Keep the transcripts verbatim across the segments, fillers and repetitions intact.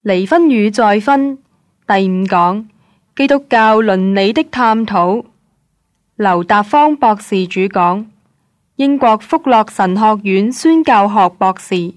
離婚與再婚第五講，基督教倫理的探討，劉達芳博士主講，英國福樂神學院宣教學博士。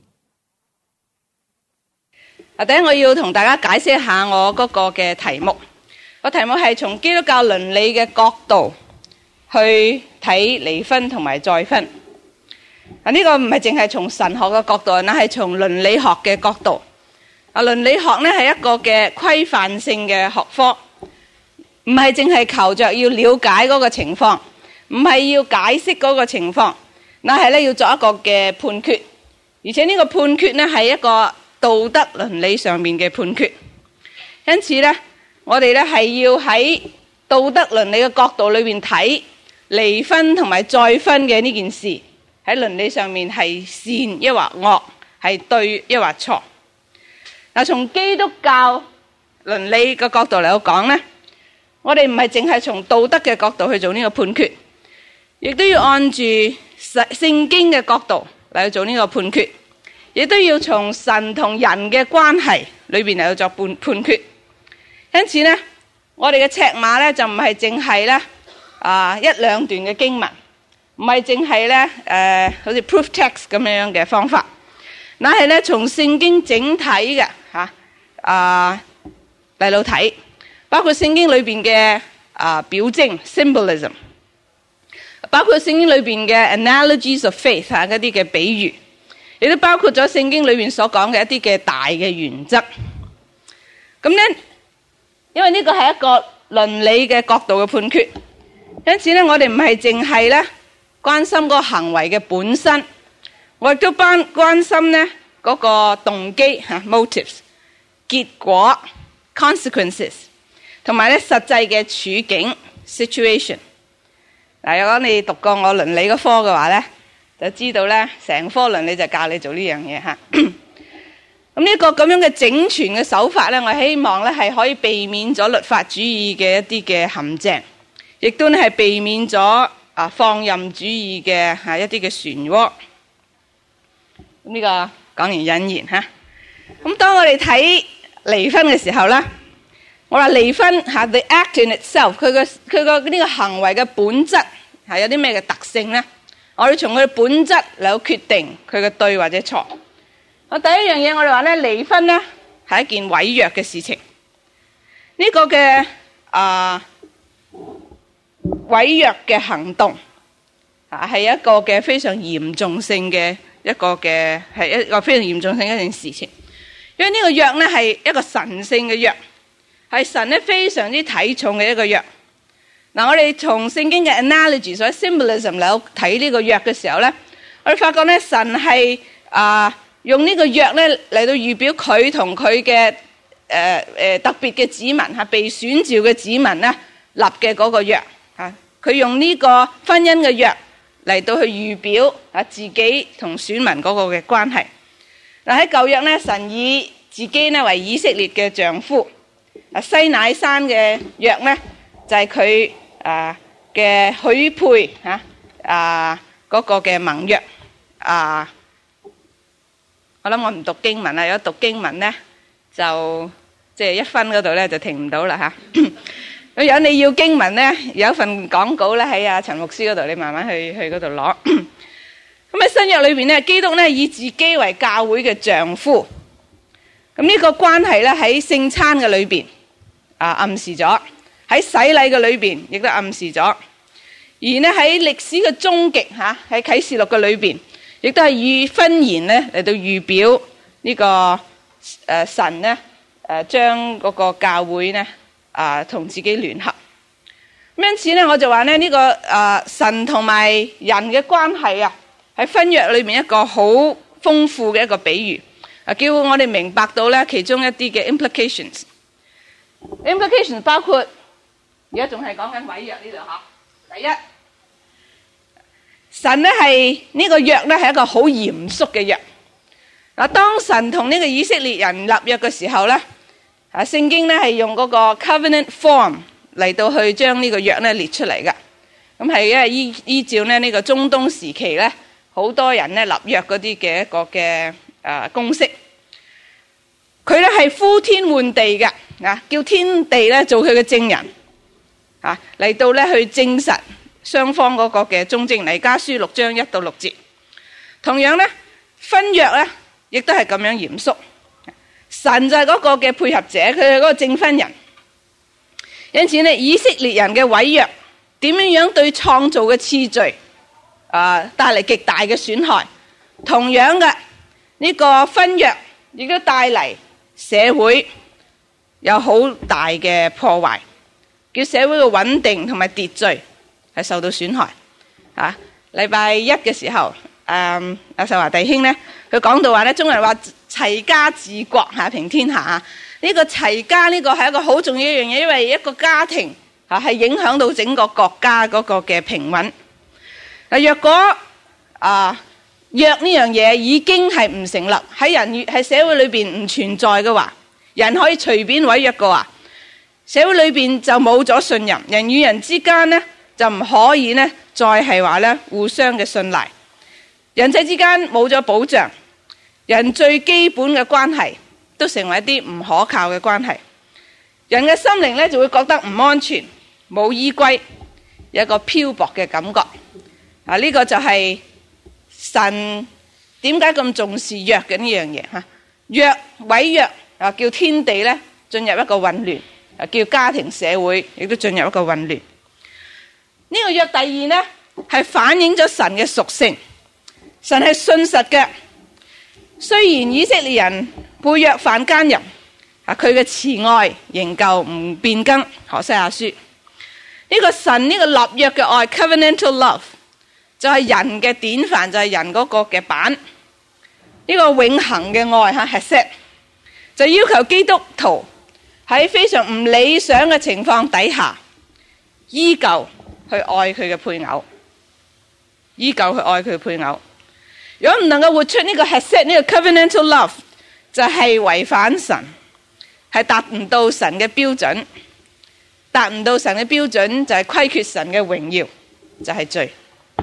啊，第一我要同大家解釋一下我嗰個嘅題目。個題目係從基督教倫理嘅角度去睇離婚同埋再婚。啊，呢個唔係淨係從神學嘅角度，乃係從倫理學嘅角度。啊，倫理學呢係一個嘅規範性嘅學科，唔係淨係求着要了解嗰個情況，唔係要解釋嗰個情況，乃係咧要做一個嘅判決，而且呢個判決呢係一個道德倫理上面嘅判決。因此呢，我哋咧係要喺道德倫理嘅角度裏邊睇離婚同埋再婚嘅呢件事，喺倫理上面係善抑或惡，係對抑或錯。嗱，從基督教倫理嘅角度嚟講呢，我哋唔係淨係從道德嘅角度去做呢個判決，亦都要按住聖經嘅角度嚟去做呢個判決，亦都要從神同人嘅關係裏邊嚟去做判判決。因此呢，我哋嘅尺碼呢，就唔係淨係呢啊一兩段嘅經文，唔係淨係呢誒好似 proof text 咁樣嘅方法，乃係呢從聖經整體嘅吓啊嚟到睇，包括聖經裏邊嘅啊表徵 symbolism， 包括聖經裏邊嘅 analogies of faith 吓嗰啲嘅比喻，亦都包括咗聖經裏邊所講嘅一啲嘅大嘅原則。咁呢，因為呢個係一個倫理嘅角度嘅判決，因此呢，我哋唔係淨係咧關心嗰個行為嘅本身，我亦都關關心呢嗰個動機吓 motives、結果 consequences， 同埋咧實際嘅處境 situation。嗱，如果你讀過我倫理嗰科嘅話咧，就知道咧成科倫理就教你做呢樣嘢吓。咁呢個咁樣嘅整全嘅手法咧，我希望咧係可以避免咗律法主義嘅一啲嘅陷阱，亦都咧係避免咗啊放任主義嘅吓一啲嘅漩渦。咁呢個講完引言吓。咁當我哋睇離婚嘅時候咧，我話離婚吓 the act in itself， 佢個佢個呢個行為嘅本質係有啲咩嘅特性咧？我哋從佢嘅本質嚟決定佢嘅對或者錯。我第一樣嘢，我哋話咧，離婚咧係一件毀約嘅事情。呢、這個嘅啊毀約嘅行動啊，係一個嘅非常嚴重性嘅一個嘅係一個非常嚴重性嘅一件事情。因為呢個約咧係一個神聖嘅約，係神咧非常之睇重嘅一個約。嗱，我哋從聖經嘅 analogy 所謂 symbolism 嚟睇呢個約嘅時候咧，我哋發覺咧神係啊。用呢個約咧嚟到預表佢同佢嘅誒誒特別嘅子民嚇，被選召嘅子民咧立嘅嗰個約嚇，佢用呢個婚姻嘅約嚟到去預表啊自己同選民嗰個嘅關係。嗱，喺舊約咧，神以自己咧為以色列嘅丈夫，啊西乃山嘅約咧就係佢啊嘅許配嚇啊嗰個嘅盟約啊。我諗我唔讀經文啦，如果讀經文咧，就即係、就是、一分嗰度咧就停唔到啦吓。如果你要經文咧，有一份講稿咧喺阿陳牧師嗰度，你慢慢去去嗰度攞。咁喺新約裏邊咧，基督咧以自己為教會嘅丈夫，咁呢個關係咧喺聖餐嘅裏邊啊暗示咗，喺洗禮嘅裏邊亦都暗示咗，而呢喺歷史嘅終極吓喺啟示錄嘅裏邊。亦都係以婚言咧嚟到預表呢、這個誒、呃、神咧誒將嗰個教會咧啊同自己聯合。因此咧，我就話咧呢、這個誒、呃、神同埋人嘅關係啊，喺婚約裏面一個好豐富嘅一個比喻啊，叫我哋明白到咧其中一啲嘅 implications。implications 包括而家仲係講緊毀約呢度吓。第一。神咧係呢個約咧係一個好嚴肅嘅約。嗱，當神同呢個以色列人立約嘅時候咧，啊聖經咧係用嗰個 covenant form 嚟到去將呢個約咧列出嚟嘅。咁係因為依依照咧呢個中東時期咧，好多人咧立約嗰啲嘅一個嘅誒公式。佢咧係係呼天喚地嘅，啊，叫天地咧做佢嘅證人，啊，嚟到咧去證實雙方嗰個嘅忠貞。彌迦書六章一到六節。同樣咧，婚約咧亦都係咁樣嚴肅。神就係嗰個嘅配合者，佢係嗰個證婚人。因此咧，以色列人嘅毀約點樣樣對創造嘅次序啊帶嚟極大嘅損害。同樣嘅呢個婚約亦都帶嚟社會有好大嘅破壞，叫社會嘅穩定同埋秩序係受到損害。啊，禮拜一嘅時候，誒阿秀華弟兄咧，佢講到話咧，中國人話齊家治國嚇平天下啊。呢個齊家呢個係一個好重要一樣嘢，因為一個家庭嚇係影響到整個國家嗰個嘅平穩。嗱，若果啊約呢樣嘢已經係唔成立，喺人喺社會裏邊唔存在嘅話，人可以隨便毀約嘅話，社會裏邊就冇咗信任，人與人之間呢就唔可以呢再係話呢互相嘅信賴，人際之間冇咗保障，人最基本嘅關係都成為一啲唔可靠嘅關係，人嘅心靈咧就會覺得唔安全、冇依歸，有一個漂泊嘅感覺。啊，呢個就係神點解咁重視約嘅呢樣嘢吓？約毀約啊，叫天地咧進入一個混亂，啊，叫家庭社會亦都進入一個混亂。呢個約第二呢係反映咗神嘅屬性，神係信實嘅。雖然以色列人背約犯奸淫，啊，佢嘅慈愛仍舊唔變更。何西阿書呢個神呢個立約嘅愛 covenantal love 就係人嘅典範，就係人嗰個嘅版。呢個永恆嘅愛吓 hesed 就要求基督徒喺非常唔理想嘅情況底下，依舊去愛佢嘅配偶，依舊去愛佢嘅配偶。如果唔能夠活出呢個 hesed 呢個 covenantal love，就係違反神，係達唔到神嘅標準，達唔到神嘅標準就係虧缺神嘅榮耀，就係罪。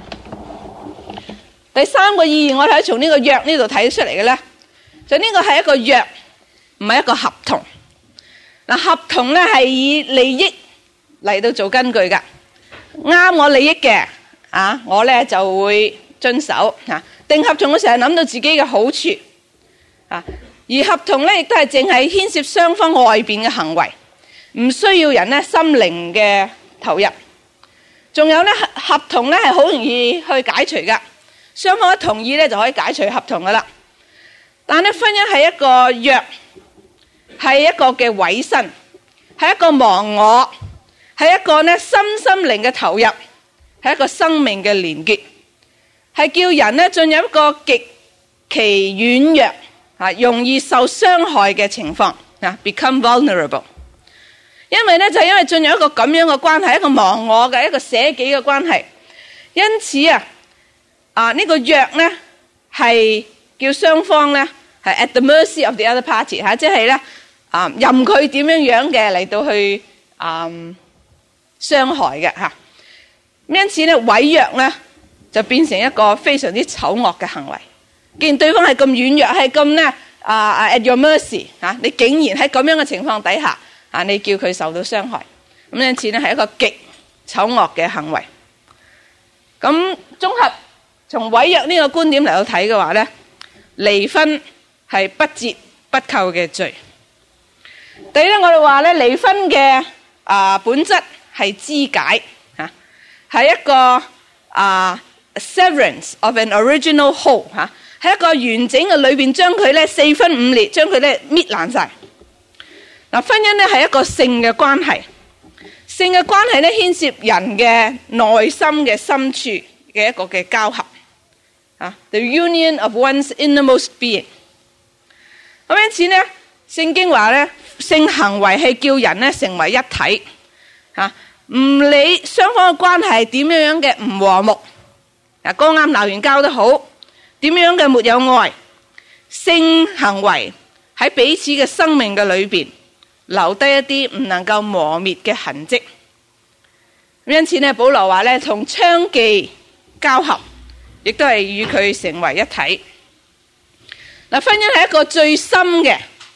第三個意義我哋可以從呢個約呢度睇出嚟嘅咧，就呢個係一個約，唔係一個合同。嗱，合同咧係以利益嚟到做根據噶，啱我利益嘅啊，我咧就會遵守啊。訂合同嘅時候諗到自己嘅好處啊，而合同咧亦都係淨係牽涉雙方外邊嘅行為，唔需要人咧心靈嘅投入。仲有咧合同咧係好容易去解除噶，雙方一同意咧就可以解除合同噶啦。但係婚姻係一個約，係一個嘅委身，係一個忘我，係一個咧心心靈嘅投入，係一個生命嘅連結。係叫人咧進入一個極其軟弱啊，容易受傷害嘅情況啊 ，become vulnerable。因為咧就因為進入一個咁樣嘅關係，一個忘我嘅一個捨己嘅關係，因此啊啊呢個約咧係叫雙方咧係 at the mercy of the other party 吓，即係咧啊任佢點樣樣嘅嚟到去啊傷害嘅吓。因此咧毀約咧就變成一個非常之醜惡嘅行為。既然對方係咁軟弱，係咁咧啊 at your mercy 啊，你竟然喺咁樣嘅情況底下啊，你叫佢受到傷害，咁因此咧係一個極醜惡嘅行為。咁綜合從毀約呢個觀點嚟到睇嘅話咧，離婚係不折不扣嘅罪。第一咧，我哋話咧離婚嘅啊本質係肢解吓，係一個啊 severance of an original whole 吓，係一個完整嘅裏邊將佢咧四分五裂，將佢咧搣爛晒。嗱，婚姻咧係一個性嘅關係，性嘅關係咧牽涉人嘅內心嘅深處嘅一個嘅交合啊 ，the union of one's innermost being。咁因此咧，聖經話咧，性行為係叫人咧成為一體啊，唔理雙方嘅關係點樣樣嘅唔和睦，嗱，剛啱鬧完交都好，點樣嘅沒有愛，性行為喺彼此嘅生命嘅裏邊留低一啲唔能夠磨滅嘅痕跡。因此咧，保羅話咧，同娼妓交合，亦都係與佢成為一體。嗱，婚姻係一個最深嘅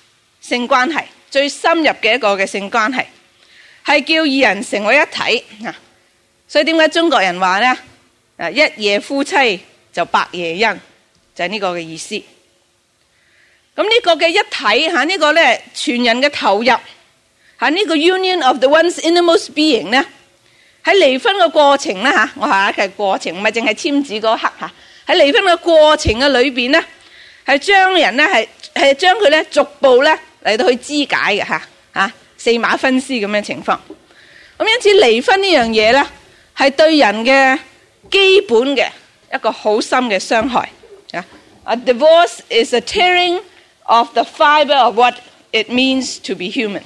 性關係，最深入嘅一個嘅性關係，係叫二人成為一體啊！所以點解中國人話呢？啊，一夜夫妻就百夜恩，就係呢個嘅意思。咁呢個嘅一體吓，呢個咧全人嘅投入吓，呢個 union of the one's innermost being 咧，喺離婚嘅過程咧吓，我下一嘅過程唔係淨係簽字嗰刻吓，喺離婚嘅過程嘅裏邊咧，係將人咧係係將佢咧逐步咧嚟到去肢解嘅吓吓，四馬分屍咁樣情況。咁因此離婚呢樣嘢咧，係對人嘅基本嘅一個好深嘅傷害啊。A divorce is a tearing of the fiber of what it means to be human.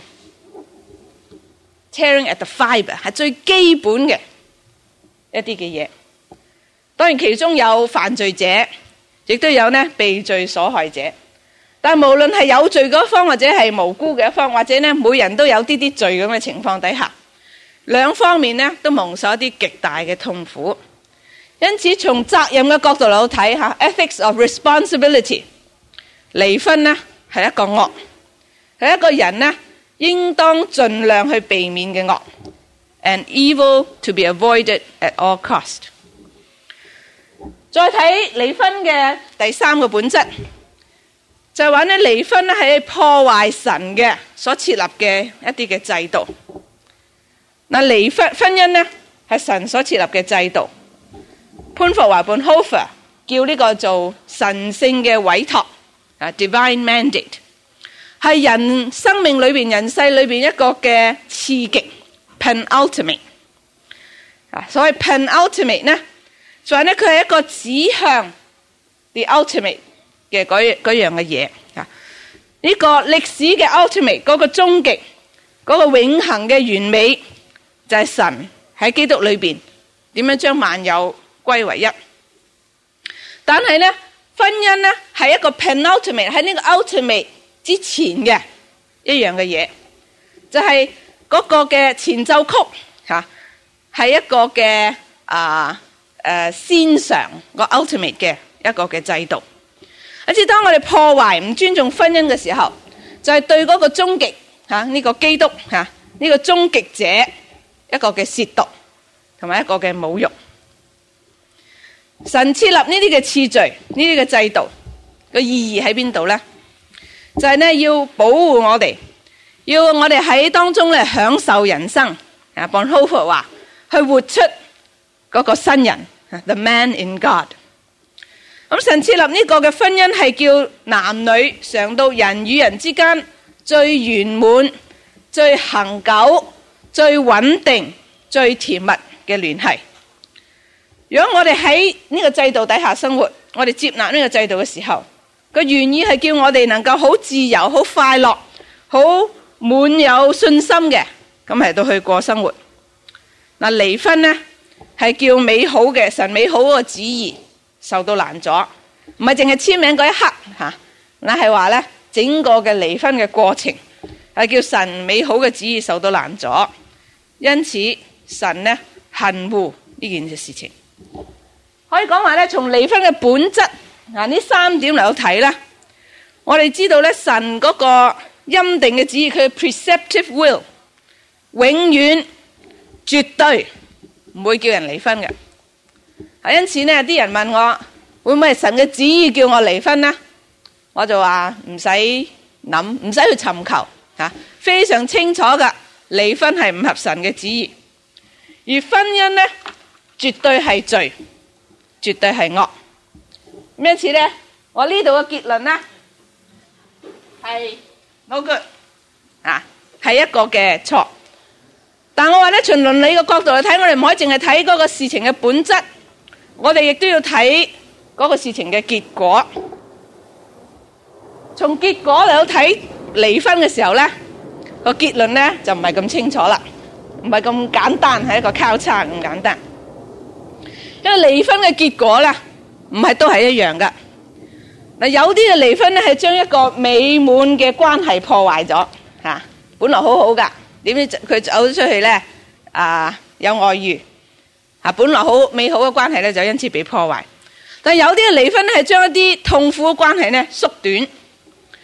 Tearing at the fiber 係最基本嘅一啲嘅嘢。當然其中有犯罪者，亦都有呢被罪所害者。但無論係有罪嗰方或者係無辜嘅一方，或者呢每人都有啲啲罪咁嘅情況底下，兩方面呢都蒙受一啲極大嘅痛苦。因此從責任嘅角度嚟睇下 ethics of responsibility。離婚呢係一個惡，係一個人呢應當盡量去避免嘅惡 ，an evil to be avoided at all cost。再睇離婚嘅第三個本質，就係話呢離婚呢係破壞神嘅所設立嘅一啲嘅制度。嗱，離婚婚姻呢係神所設立嘅制度。潘霍華 Bonhoeffer 叫呢個做神聖嘅委託。啊 ，divine mandate 係人生命裏邊、人世裏邊一個嘅次極 penultimate 啊，所謂 penultimate 呢，就係呢佢係一個指向 the ultimate 嘅嗰嗰樣嘅嘢啊。呢個歷史嘅 ultimate 嗰個終極嗰個永恆嘅完美，就係神喺基督裏邊點樣將萬有歸為一。但係呢，婚姻呢係一個 penultimate 喺呢個 ultimate 之前嘅一樣嘅嘢，就係、是、嗰個嘅前奏曲吓，係一個嘅啊誒先嘗個 ultimate 嘅一個嘅制度。好似當我哋破壞唔尊重婚姻嘅時候，就係、是、對嗰個終極吓呢個基督吓呢、這個終極者一個嘅褻瀆同埋一個嘅侮辱。神設立呢啲嘅次序，呢啲嘅制度個意義喺邊度呢？就係、是、呢要保護我哋，要我哋喺當中咧享受人生。啊 Bonhoeffer 話去活出嗰個新人 ，the man in God。咁神設立呢個嘅婚姻係叫男女嘗到人與人之間最圓滿、最恆久、最穩定、最甜蜜嘅聯繫。如果我哋喺呢個制度底下生活，我哋接納呢個制度嘅時候，個原意係叫我哋能夠好自由、好快樂、好滿有信心嘅，咁嚟到去過生活。嗱，離婚呢係叫美好嘅神美好嗰個旨意受到攔阻，唔係淨係簽名嗰一刻吓，嗱係話呢整個嘅離婚嘅過程係叫神美好嘅旨意受到攔阻，因此神呢恨惡呢件事情。可以講話咧，從離婚嘅本質啊，呢三點嚟到睇咧，我哋知道咧，神嗰個欽定嘅旨意，佢嘅 preceptive will，永遠絕對唔會叫人離婚嘅。啊，因此呢，啲人問我會唔會係神嘅旨意叫我離婚呢？我就話唔使諗，唔使去尋求吓，非常清楚噶，離婚係唔合神嘅旨意，而婚姻呢，絕對係罪。絕對係惡，因此咧，我呢度嘅結論咧係 no good 啊，係一個嘅錯。但我話咧，從倫理嘅角度嚟睇，我哋唔可以淨係睇嗰個事情嘅本質，我哋亦都要睇嗰個事情嘅結果。從結果嚟到睇離婚嘅時候咧，個結論咧就唔係咁清楚啦，唔係咁簡單，係一個交叉咁簡單。因為離婚嘅結果咧，唔係都係一樣噶。嗱，有啲嘅離婚咧係將一個美滿嘅關係破壞咗吓，本來好好噶，點知佢走咗出去咧啊有外遇啊，本來好美好嘅關係咧就因此被破壞。但係有啲嘅離婚咧係將一啲痛苦嘅關係咧縮短。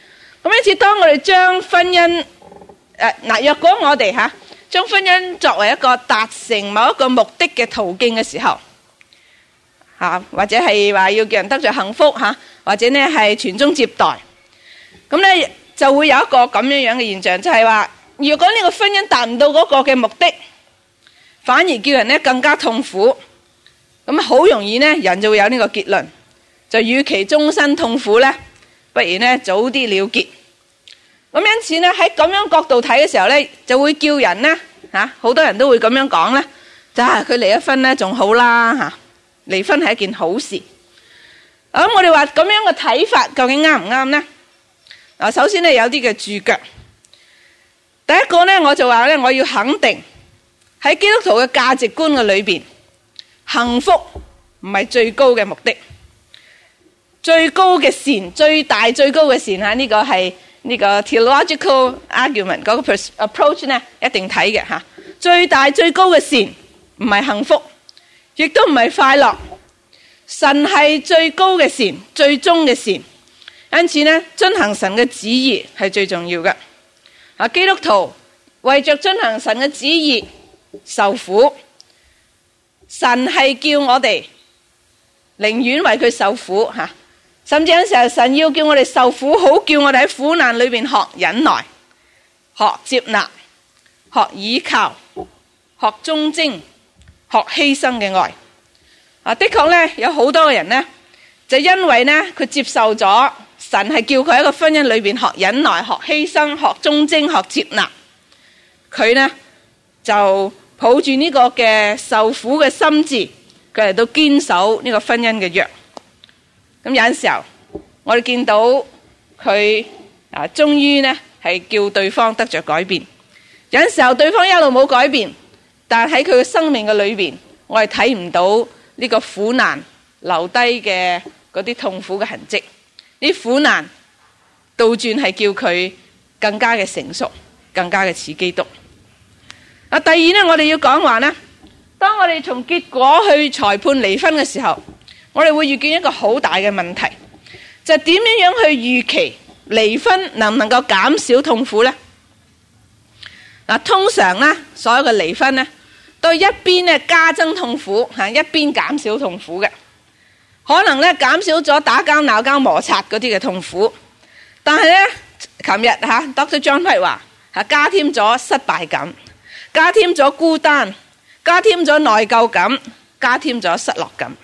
咁因此，當我哋將婚姻誒嗱，若果我哋吓將婚姻作為一個達成某一個目的嘅途徑嘅時候，吓或者係話要叫人得着幸福吓，或者呢係傳宗接代，咁咧就會有一個咁樣樣嘅現象，就係話，如果呢個婚姻達唔到嗰個嘅目的，反而叫人呢更加痛苦，咁好容易呢人就會有呢個結論，就與其終身痛苦呢，不如呢早啲了結。咁因此呢喺咁樣角度睇嘅時候呢，就會叫人呢吓，好多人都會咁樣講呢，就係佢離咗婚呢仲好啦吓，離婚係一件好事。咁我哋話咁樣嘅睇法究竟啱唔啱呢？啊，首先呢有啲嘅注腳。第一個呢，我就話呢，我要肯定喺基督徒嘅價值觀嘅裏邊，幸福唔係最高嘅目的，最高嘅善，最大最高嘅善吓，呢個係呢個 theological argument 嗰個 approach 呢，一定睇嘅吓。最大最高嘅善唔係幸福，亦都唔係快樂，神係最高嘅善，最終嘅善。因此呢，遵行神嘅旨意係最重要嘅。啊，基督徒為着遵行神嘅旨意受苦，神係叫我哋寧願為佢受苦吓，甚至有時候神要叫我哋受苦，好叫我哋喺苦難裏邊學忍耐、學接納、學倚靠、學忠貞、學犧牲嘅愛。啊，的確呢，有好多嘅人呢，就因為呢，佢接受咗神係叫佢喺一個婚姻裏邊學忍耐、學犧牲、學忠貞、學接納，佢呢就抱住呢個嘅受苦嘅心志，佢嚟到堅守呢個婚姻嘅約。咁有陣時候，我哋見到佢啊，終於呢係叫對方得着改變。有陣時候對方一路冇改變，但係喺佢嘅生命嘅裏邊，我哋睇唔到呢個苦難留低嘅嗰啲痛苦嘅痕跡。啲苦難倒轉係叫佢更加嘅成熟，更加嘅似基督。啊，第二呢，我哋要講話呢，當我哋從結果去裁判離婚嘅時候，我哋會遇見一個好大嘅問題，就係點樣樣去預期離婚能唔能夠減少痛苦呢？嗱，通常呢，所有嘅離婚呢，都一邊呢加增痛苦，吓一邊減少痛苦嘅。可能咧減少咗打交鬧交摩擦嗰啲嘅痛苦，但係咧，琴日吓 Doctor John White 話吓加添咗失敗感，加添咗孤單，加添咗內疚感，加添咗失落感。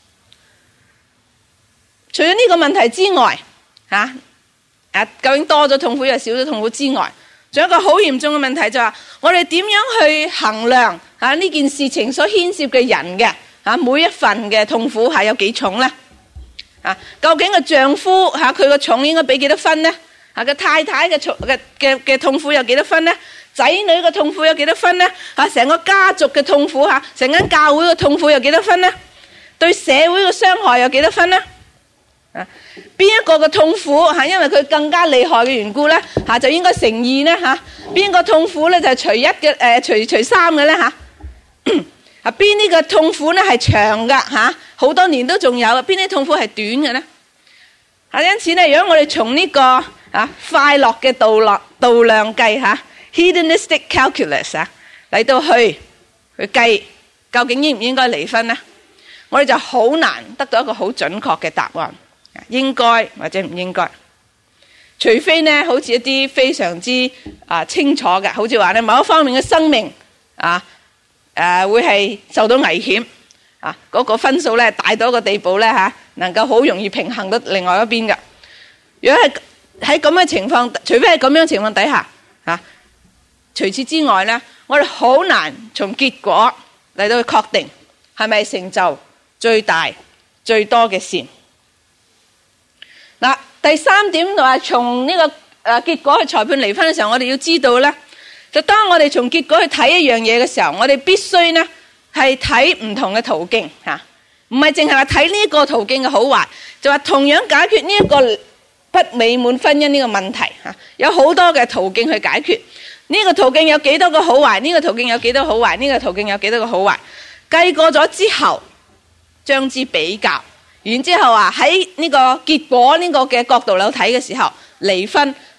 除咗呢個問題之外，吓誒究竟多咗痛苦又少咗痛苦之外，仲有一個好嚴重嘅問題就係話，我哋點樣去衡量吓呢件事情所牽涉嘅人嘅？啊，每一份嘅痛苦係有幾重呢？啊，究竟個丈夫吓佢個重應該俾幾多分呢？啊，個太太嘅重嘅嘅嘅痛苦有幾多分呢？仔女嘅痛苦有幾多分呢？啊，成個家族嘅痛苦吓，成間教會嘅痛苦有幾多分呢？對社會嘅傷害有幾多分呢？啊，邊一個嘅痛苦吓，因為佢更加厲害嘅緣故咧，吓就應該乘二呢？吓？邊個痛苦咧就係除一嘅誒，除除三嘅咧吓？啊，邊啲嘅痛苦咧係長噶吓，好多年都仲有；邊啲痛苦係短嘅咧？啊，因此咧，如果我哋從呢個啊快樂嘅度量度量計吓 hedonistic calculus 啊嚟到去去計，究竟應唔應該離婚咧？我哋就好難得到一個好準確嘅答案，應該或者唔應該。除非咧，好似一啲非常之啊清楚嘅，好似話咧某一方面嘅生命啊。誒、呃，會係受到危險啊！嗰、那個分數咧大到一個地步咧吓、啊，能夠好容易平衡到另外一邊嘅。如果係喺咁嘅情況，除非係咁樣嘅情況底下啊，除此之外咧，我哋好難從結果嚟到去確定係咪成就最大最多嘅善。嗱、啊，第三點就係從呢個誒、啊、結果去裁判離婚嘅時候，我哋要知道咧。就當我哋從結果去睇一樣嘢嘅時候，我哋必須呢係睇唔同嘅途徑吓，唔係淨係話睇呢一個途徑嘅好壞，就話同樣解決呢一個不美滿婚姻呢個問題吓，有好多嘅途徑去解決。呢個途徑有幾多個好壞？呢個途徑有幾多好壞？呢個途徑有幾多個好壞？計過咗之後，將之比較，然之後話喺呢個結果呢個嘅角度嚟睇嘅時候，離婚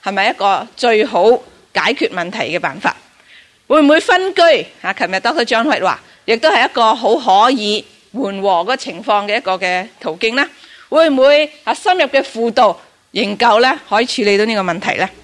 係咪一個最好解決問題嘅辦法？會唔會分居？啊，琴日 Doctor John White 話，亦都係一個好可以緩和個情況嘅一個嘅途徑呢？會唔會啊深入嘅輔導研究咧，可以處理到呢個問題咧？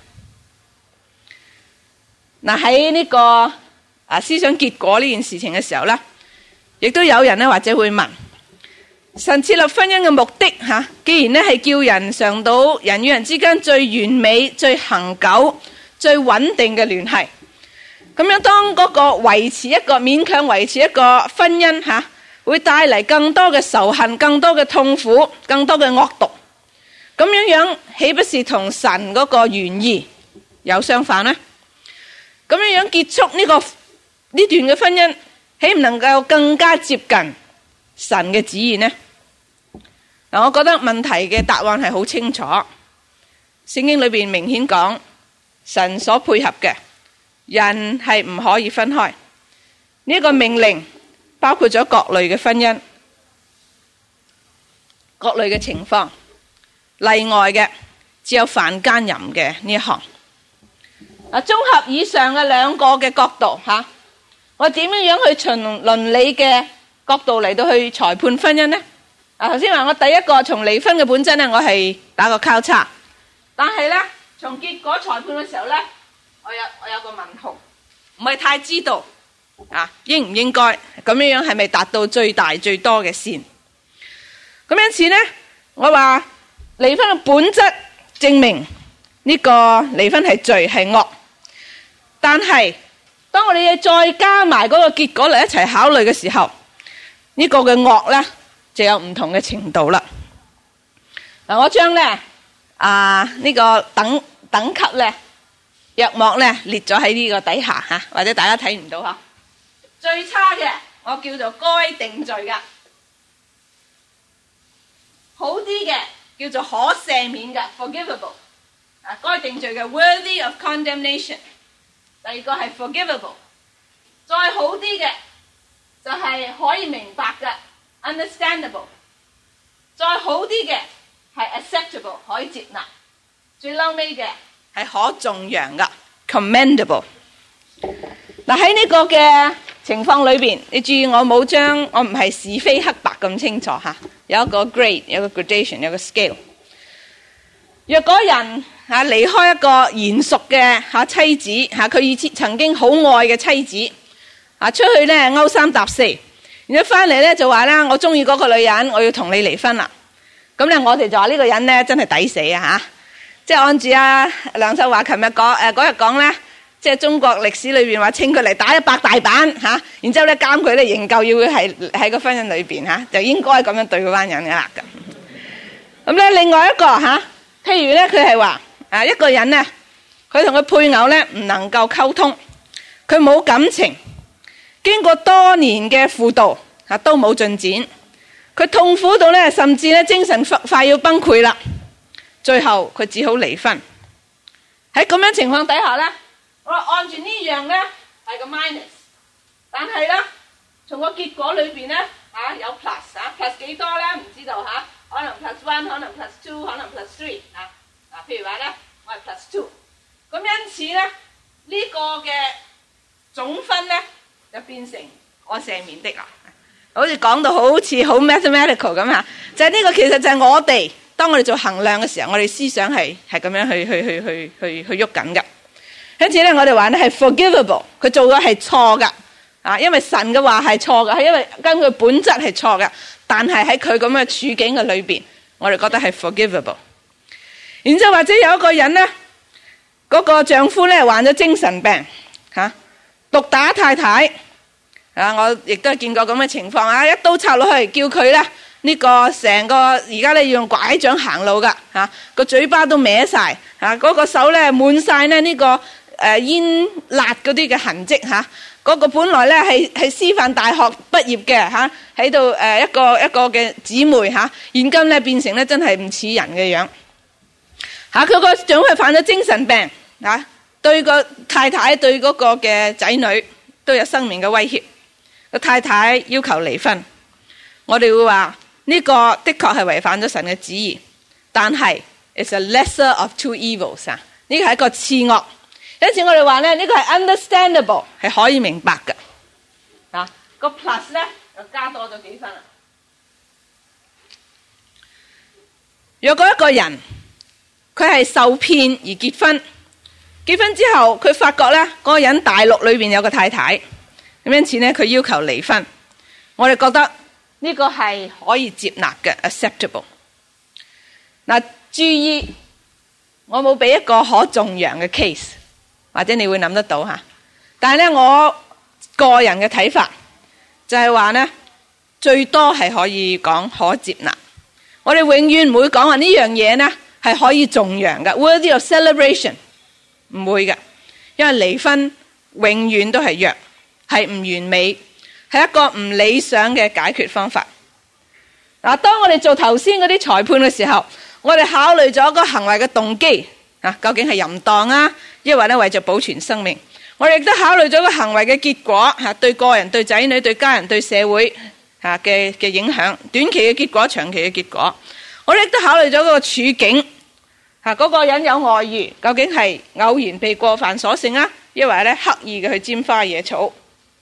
嗱，喺呢個啊思想結果呢件事情嘅時候咧，亦都有人咧或者會問：神設立婚姻嘅目的吓，既然咧係叫人嘗到人與人之間最完美、最恆久、最穩定嘅聯繫，咁樣當嗰個維持一個勉強維持一個婚姻吓，會帶嚟更多嘅仇恨、更多嘅痛苦、更多嘅惡毒，咁樣樣豈不是同神嗰個原意有相反呢？咁樣樣結束呢個呢段嘅婚姻，豈唔能夠更加接近神嘅旨意呢？嗱，我覺得問題嘅答案係好清楚。聖經裏邊明顯講，神所配合嘅人係唔可以分開。呢個命令包括咗各類嘅婚姻、各類嘅情況，例外嘅只有犯奸淫嘅呢一項。啊，綜合以上嘅兩個嘅角度吓，我點樣樣去從倫理嘅角度嚟到去裁判婚姻呢？啊，頭先話我第一個從離婚嘅本質呢，我係打個交叉，但係呢，從結果裁判嘅時候呢，我有我有個問號，唔係太知道啊，應唔應該咁樣樣係咪達到最大最多嘅線？咁因此呢，我話離婚嘅本質證明呢個離婚係罪係惡。但係，當我哋再加埋嗰個結果嚟一齊考慮嘅時候，呢個嘅惡呢就有唔同嘅程度啦。嗱，我將呢啊呢個等等級呢約莫呢列咗喺呢個底下吓，或者大家睇唔到吓。最差嘅我叫做該定罪噶，好啲嘅叫做可赦免嘅 forgivable， 啊該定罪嘅 worthy of condemnation。第二個係 forgivable， 再好啲嘅就係可以明白嘅 understandable， 再好啲嘅係 acceptable 可以接納，最嬲尾嘅係可頌揚嘅 commendable。嗱，喺呢個嘅情況裏邊，你注意我冇將我唔係是非黑白咁清楚吓，有一個 grade， 有一個 gradation， 有一個 scale。若果人吓離開一個賢淑嘅吓妻子吓，佢以前曾經好愛嘅妻子啊，出去咧勾三搭四，然後翻嚟咧就話啦，我中意嗰個女人，我要同你離婚啦。咁咧我哋就話呢個人咧真係抵死啊吓！即係按住阿梁秀華琴日講誒嗰日講咧，即係中國歷史裏邊話稱佢嚟打一百大板吓，然之後咧監佢咧營救，要佢係喺個婚姻裏邊吓，就應該咁樣對嗰班人噶啦咁。咁咧另外一個吓。譬如咧，佢係話啊，一個人咧，佢同佢配偶咧唔能夠溝通，佢冇感情，經過多年嘅輔導啊，都冇進展，佢痛苦到咧，甚至咧精神快要崩潰啦，最後佢只好離婚。喺咁樣情況底下咧，我話按住呢樣咧係個 minus， 但係咧從個結果裏邊咧啊有 plus 啊 plus 幾多咧唔知道吓。可能 plus one， 可能 plus two， 可能 plus three 啊啊！譬如話咧，我係 plus two， 咁因此咧呢、這個嘅總分咧就變成我赦免的啦。好似講到好似好 mathematical 咁吓，就係、是、呢個其實就係我哋當我哋做衡量嘅時候，我哋思想係係咁樣去去去去去去喐緊嘅。因此咧，我哋話咧係 forgivable， 佢做嘅係錯噶啊，因為神嘅話係錯噶，係因為根據本質係錯噶。但係喺佢咁嘅處境嘅裏邊，我哋覺得係 forgivable。然之後或者有一個人呢，嗰、那個丈夫呢患咗精神病，吓、啊、毒打太太，啊我亦都係見過咁嘅情況啊，一刀插落去，叫佢呢，呢、這個成個而家呢要用拐杖行路噶，吓、啊、個嘴巴都歪晒，吓、啊、嗰、那個手呢滿晒呢呢、這個誒、呃、煙辣嗰啲嘅痕跡吓。啊嗰個本來咧係係師範大學畢業嘅吓，喺度誒一個一個嘅姊妹吓，現今咧變成咧真係唔似人嘅樣吓。佢個丈夫係犯咗精神病吓，對個太太對嗰個嘅仔女都有生命嘅威脅。個太太要求離婚，我哋會話呢個的確係違反咗神嘅旨意，但係 it's a lesser of two evils 啊， 呢個係一個次惡。因此我哋話咧，呢個係 understandable， 係可以明白嘅。啊，個 plus 咧就加多咗幾分啦。若果一個人佢係受騙而結婚，結婚之後佢發覺咧嗰個人大陸裏邊有個太太，咁因此咧佢要求離婚，我哋覺得呢個係可以接納嘅 acceptable。嗱，注意我冇俾一個可頌揚嘅 case， 或者你會諗得到吓，但係咧我個人嘅睇法就係話咧，最多係可以講可接納。我哋永遠唔會講話呢樣嘢呢係可以頌揚嘅 worthy of celebration， 唔會嘅，因為離婚永遠都係弱，係唔完美，係一個唔理想嘅解決方法。嗱，當我哋做頭先嗰啲裁判嘅時候，我哋考慮咗個行為嘅動機啊，究竟係淫蕩啊，抑或咧為咗保存生命。我哋亦都考慮咗個行為嘅結果吓，對個人、對仔女、對家人、對社會吓嘅嘅影響，短期嘅結果、長期嘅結果。我哋亦都考慮咗嗰個處境吓，嗰個人有外遇，究竟係偶然被過犯所勝啊，抑或咧刻意嘅去沾花惹草。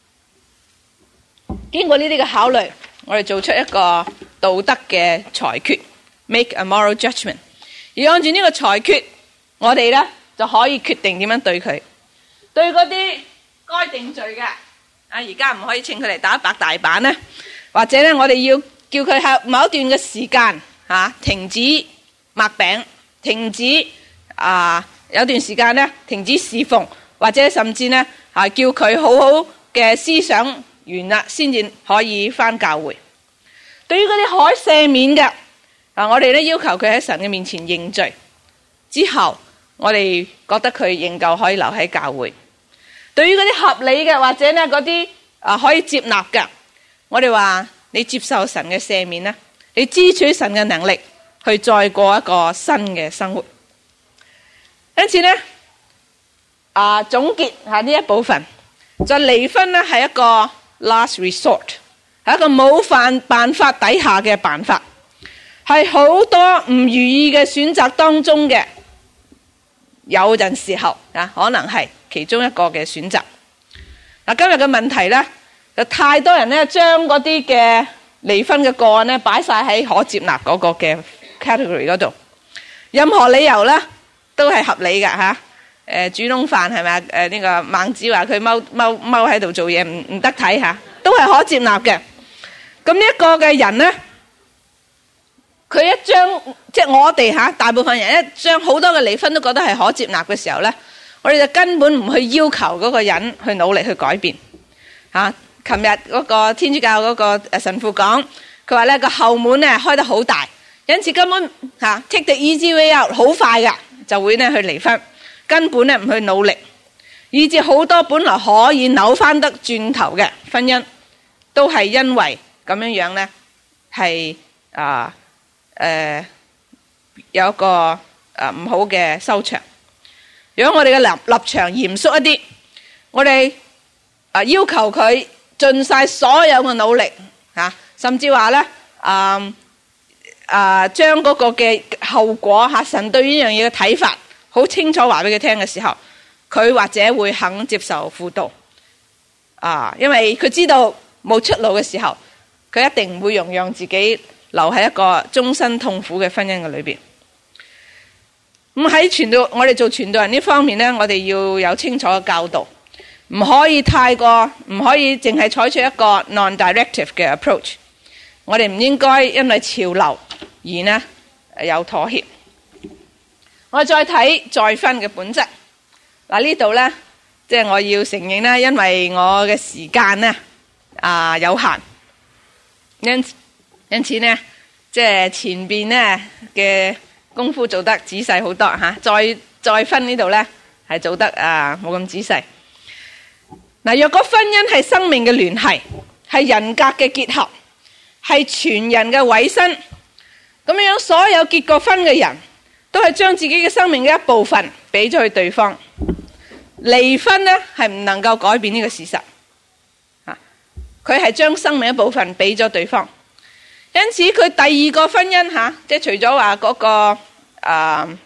經過呢啲嘅考慮，我哋做出一個道德嘅裁決 ，make a moral judgment。而按住呢個裁決，我哋咧就可以決定點樣對佢。對嗰啲該定罪嘅，啊而家唔可以請佢嚟打白大板咧，或者咧我哋要叫佢喺某一段嘅時間吓、啊、停止擘餅，停止啊有段時間咧停止侍奉，或者甚至咧啊叫佢好好嘅思想完啦，先至可以返教會。對於嗰啲可赦免嘅，啊我哋咧要求佢喺神嘅面前認罪之後，我哋覺得佢仍舊可以留喺教會。對於嗰啲合理嘅，或者咧嗰啲啊可以接納嘅，我哋話你接受神嘅赦免啦，你支取神嘅能力去再過一個新嘅生活。因此咧啊總結下呢一部分，就離婚咧係一個 last resort， 係一個冇犯辦法底下嘅辦法，係好多唔如意嘅選擇當中嘅。有陣時候啊，可能係其中一個嘅選擇。嗱，今日嘅問題呢，就太多人呢將嗰啲嘅離婚嘅個案呢擺晒喺可接納嗰個嘅 category 嗰度，任何理由呢都係合理嘅吓。誒，煮窿飯係咪？誒，呢個孟子話佢踎踎踎喺度做嘢唔唔得睇吓，都係可接納嘅。咁呢一個嘅人呢，佢一將即係我哋吓，大部分人一將好多嘅離婚都覺得係可接納嘅時候呢，我哋就根本唔去要求嗰個人去努力去改變吓。琴日嗰個天主教嗰個神父講，佢話呢個後門呢開得好大，因此根本吓 take the easy way out， 好快噶就會呢去離婚，根本呢唔去努力，以至好多本來可以扭翻得轉頭嘅婚姻，都係因為咁樣樣呢係啊。誒、呃，有一個誒唔、呃、好嘅收場。如果我哋嘅立立場嚴肅一啲，我哋啊、呃、要求佢盡晒所有嘅努力吓、啊，甚至話咧啊啊將嗰個嘅後果吓、啊，神對呢樣嘢嘅睇法好清楚話俾佢聽嘅時候，佢或者會肯接受輔導啊，因為佢知道冇出路嘅時候，佢一定唔會容讓自己留喺一個終身痛苦嘅婚姻嘅裏邊。咁喺傳道，我哋做傳道人呢方面呢，我哋要有清楚嘅教導，唔可以太過，唔可以淨係採取一個 non-directive 嘅 approach。我哋唔應該因為潮流而呢有妥協。我再睇再婚嘅本質。嗱，呢度呢，即係我要承認呢，因為我嘅時間呢啊有限，因因此呢，即係前邊呢嘅功夫做得仔細好多吓，再再婚呢度呢係做得啊冇咁仔細。嗱，若果婚姻係生命嘅聯繫，係人格嘅結合，係全人嘅委身，咁樣所有結過婚嘅人都係將自己嘅生命嘅一部分俾咗去對方。離婚呢係唔能夠改變呢個事實，啊，佢係將生命一部分俾咗對方。因此佢第二個婚姻吓，即係除咗話嗰個誒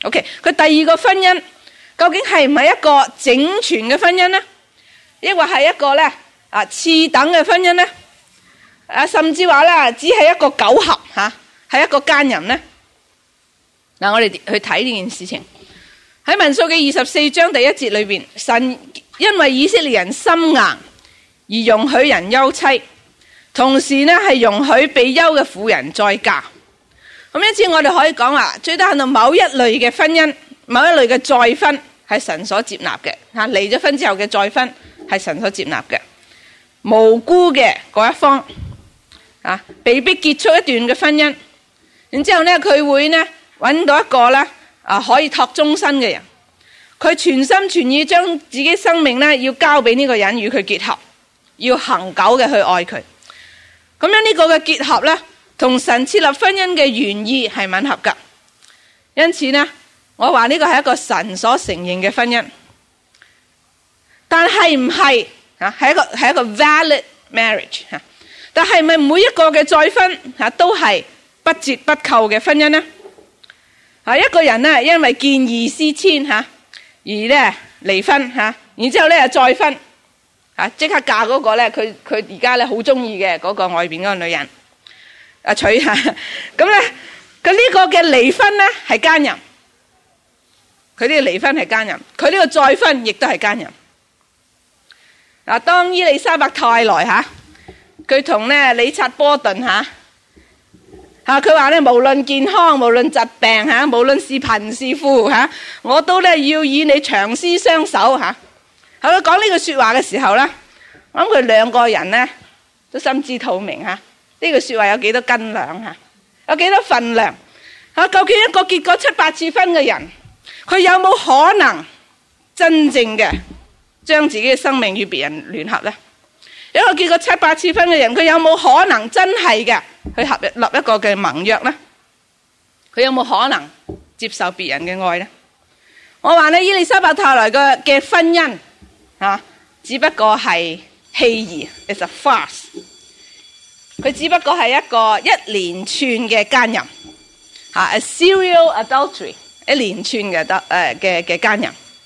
OK， 佢第二個婚姻究竟係唔係一個整全嘅婚姻呢？抑或係一個咧啊次等嘅婚姻呢？啊，甚至話咧只係一個苟合吓，係一個奸淫呢？嗱，我哋去睇呢件事情喺民數記二十四章第一節裏邊，神因為以色列人心硬而容許人休妻，同時呢係容許被休嘅婦人再嫁。咁因此我哋可以講話，最低限度某一類嘅婚姻，某一類嘅再婚係神所接納嘅吓，離咗婚之後嘅再婚係神所接納嘅。無辜嘅嗰一方啊，被逼結束一段嘅婚姻，然之後呢佢會呢揾到一個呢啊可以托終身嘅人，佢全心全意將自己生命呢要交俾呢個人與佢結合，要恆久嘅去愛佢。咁樣呢個嘅結合呢，同神設立婚姻嘅原意係吻合噶。因此呢，我話呢個係一個神所承認嘅婚姻。但係唔係啊？係一個係一個 valid marriage 吓。但係咪每一個嘅再婚吓都係不折不扣嘅婚姻呢？啊，一個人呢，因為見異思遷吓，而咧離婚吓，然之後咧再婚啊，即刻嫁嗰個咧，佢佢而家咧好中意嘅嗰個外邊嗰個女人啊娶吓，咁咧佢呢個嘅離婚咧係奸淫，佢呢個離婚係奸淫，佢呢個再婚亦都係奸淫。嗱，當伊麗莎白太來吓，佢同咧理察波頓吓。吓，佢話咧，無論健康，無論疾病吓，無論是貧是富吓，我都咧要與你長廝相守吓。喺佢講呢句說話嘅時候咧，我諗佢兩個人咧都心知肚明吓，呢句說話有幾多斤兩吓，有幾多分量吓？究竟一個結過七八次婚嘅人，佢有冇可能真正嘅將自己嘅生命與別人聯合咧？一個結過七八次婚嘅人，佢有冇可能真係嘅去合立一個嘅盟約呢？佢有冇可能接受別人嘅愛呢？我話呢，伊麗莎白太來嘅嘅婚姻啊，只不過係戲兒 ，it's a farce。佢只不過係一個一連串嘅奸淫，吓 a serial adultery， 一連串嘅得誒嘅嘅奸淫。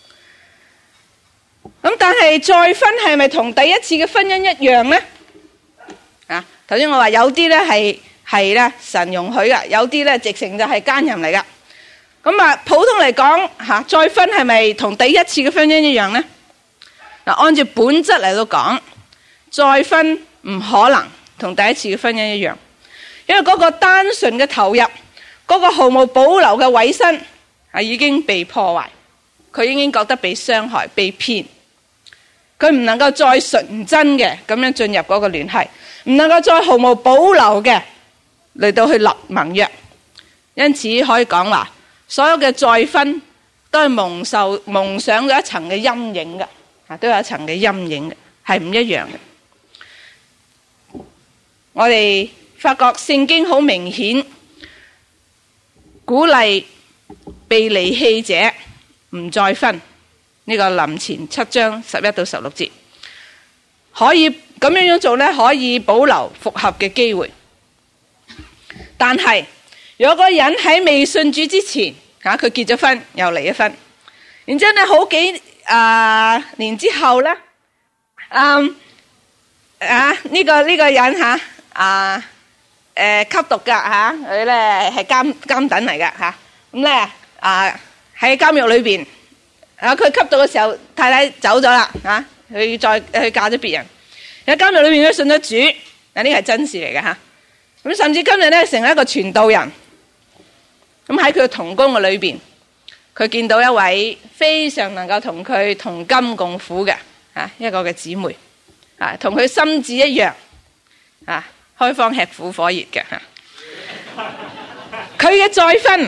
咁但係再婚係咪同第一次嘅婚姻一樣呢？啊，頭先我話有啲咧係係咧神容許噶，有啲咧直情就係奸淫嚟噶。咁啊，普通嚟講吓，再婚係咪同第一次嘅婚姻一樣呢？嗱，按照本質嚟到講，再婚唔可能同第一次嘅婚姻一樣，因為嗰個單純嘅投入，嗰個毫無保留嘅委身啊，已經被破壞，佢已經覺得被傷害、被騙。佢唔能夠再純真嘅咁樣進入嗰個聯繫，唔能夠再毫無保留嘅嚟到去立盟約，因此可以講話，所有嘅再婚都係蒙受蒙上咗一層嘅陰影嘅，啊，都有一層嘅陰影嘅，係唔一樣嘅。我哋發覺聖經好明顯鼓勵被離棄者唔再婚。呢個林前七章十一到十六節，可以咁樣樣做呢，可以保留復合嘅機會。但係如果個人喺未信主之前，吓佢結咗婚又離咗婚，然之後呢好幾啊、呃、年之後呢，嗯啊呢、這個呢、這個人吓啊誒吸毒噶吓，佢咧係監監躉嚟噶吓，咁咧啊喺監獄裏邊。啊！佢吸毒嘅時候，太太走咗啦，啊！佢再去嫁咗別人。喺監獄裏面咧信咗主，嗱呢個係真事嚟嘅吓。咁、啊、甚至今日咧成為一個傳道人。咁喺佢嘅同工嘅裏邊，佢見到一位非常能夠同佢同甘共苦嘅啊一個嘅姊妹，啊同佢心志一樣，啊開荒吃苦火熱嘅吓。佢嘅再婚。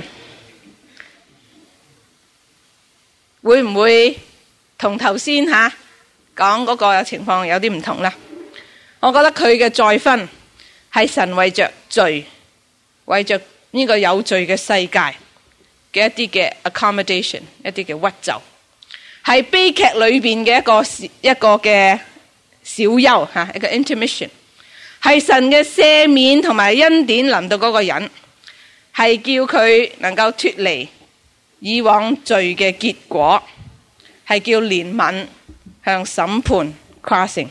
會唔會同頭先吓講嗰個情況有啲唔同呢？我覺得佢嘅再婚係神為着罪，為着呢個有罪嘅世界嘅一啲嘅 accommodation， 一啲嘅屈就，係悲劇裏邊嘅一個一個嘅小休吓，一個 intermission， 係神嘅赦免同埋恩典臨到嗰個人，係叫佢能夠脫離以往罪嘅結果，係叫憐憫向審判跨性。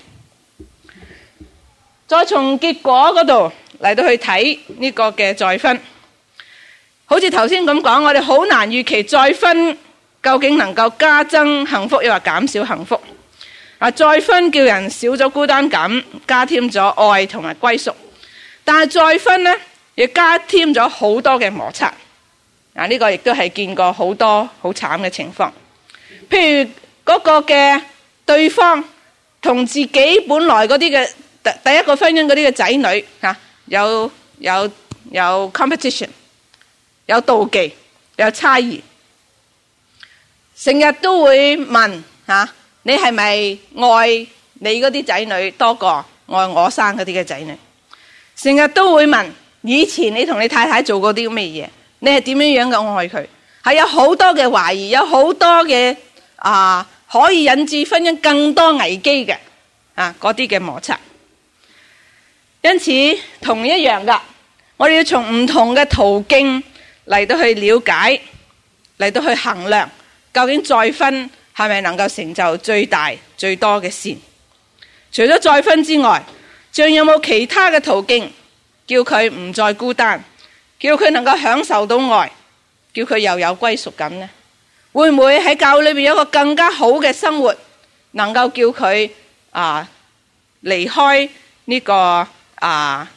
再從結果嗰度嚟到去睇呢個嘅再婚，好似頭先咁講，我哋好難預期再婚究竟能夠加增幸福，又或減少幸福。啊，再婚叫人少咗孤單感，加添咗愛同埋歸屬，但係再婚呢，亦加添咗好多嘅摩擦。啊，呢個亦都係見過好多好慘嘅情況。譬如嗰個嘅對方同自己本來嗰啲嘅第第一個婚姻嗰啲嘅仔女吓，有有有 competition， 有妒忌，有猜疑，成日都會問吓，你係咪愛你嗰啲仔女多過愛我生嗰啲嘅仔女？成日都會問，以前你同你太太做過啲咩嘢？你係點樣樣嘅愛佢？係有好多嘅懷疑，有好多嘅啊，可以引致婚姻更多危機嘅啊，嗰啲嘅摩擦。因此同一樣噶，我哋要從唔同嘅途徑嚟到去了解，嚟到去衡量，究竟再婚係咪能夠成就最大最多嘅善？除咗再婚之外，仲有冇其他嘅途徑，叫佢唔再孤單，叫佢能夠享受到愛，叫佢又有歸屬感呢？會唔會喺教會裏面有一個更加好嘅生活，能夠叫佢啊離開呢個啊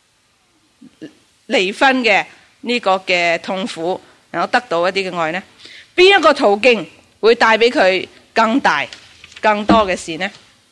離婚嘅呢個嘅痛苦，能夠得到一啲嘅愛呢？邊一個途徑會帶俾佢更大更多嘅事呢？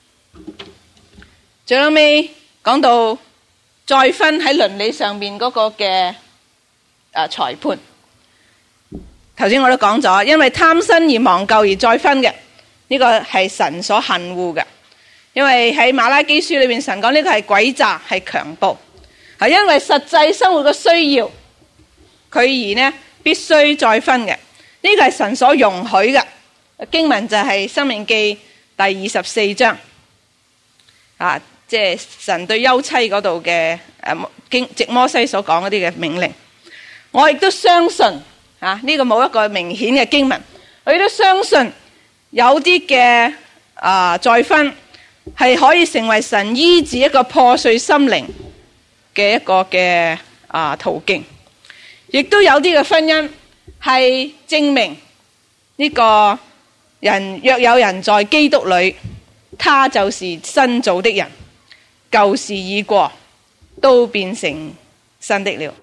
最後尾講到再婚喺倫理上面嗰個嘅誒裁判，頭先我都講咗，因為貪新而忘舊而再婚嘅，呢個係神所恨惡嘅。因為喺馬拉基書裏面，神講呢個係詭詐，係強暴，係因為實際生活嘅需要，佢而呢必須再婚嘅。呢個係神所容許嘅。經文就係申命記第二十四章啊，即係神對休妻嗰度嘅誒經藉摩西所講嗰啲嘅命令。我亦都相信啊，呢個冇一個明顯嘅經文，我亦都相信有啲嘅啊再婚係可以成為神醫治一個破碎心靈嘅一個嘅啊途徑，亦都有啲嘅婚姻係證明呢個人若有人在基督裏，他就是新造的人，舊事已過，都變成新的了。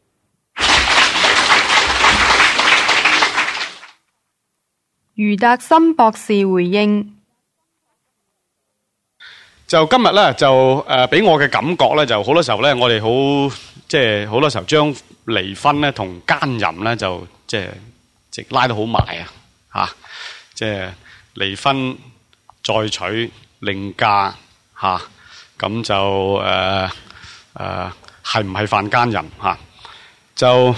余達森博士回應： 就今日咧，就誒俾我嘅感覺咧，就好多時候咧，我哋好即係好多時候將離婚咧同奸淫咧就即係即拉得好埋啊！嚇，即係離婚再娶另嫁嚇，咁就誒誒係唔係犯奸淫嚇？就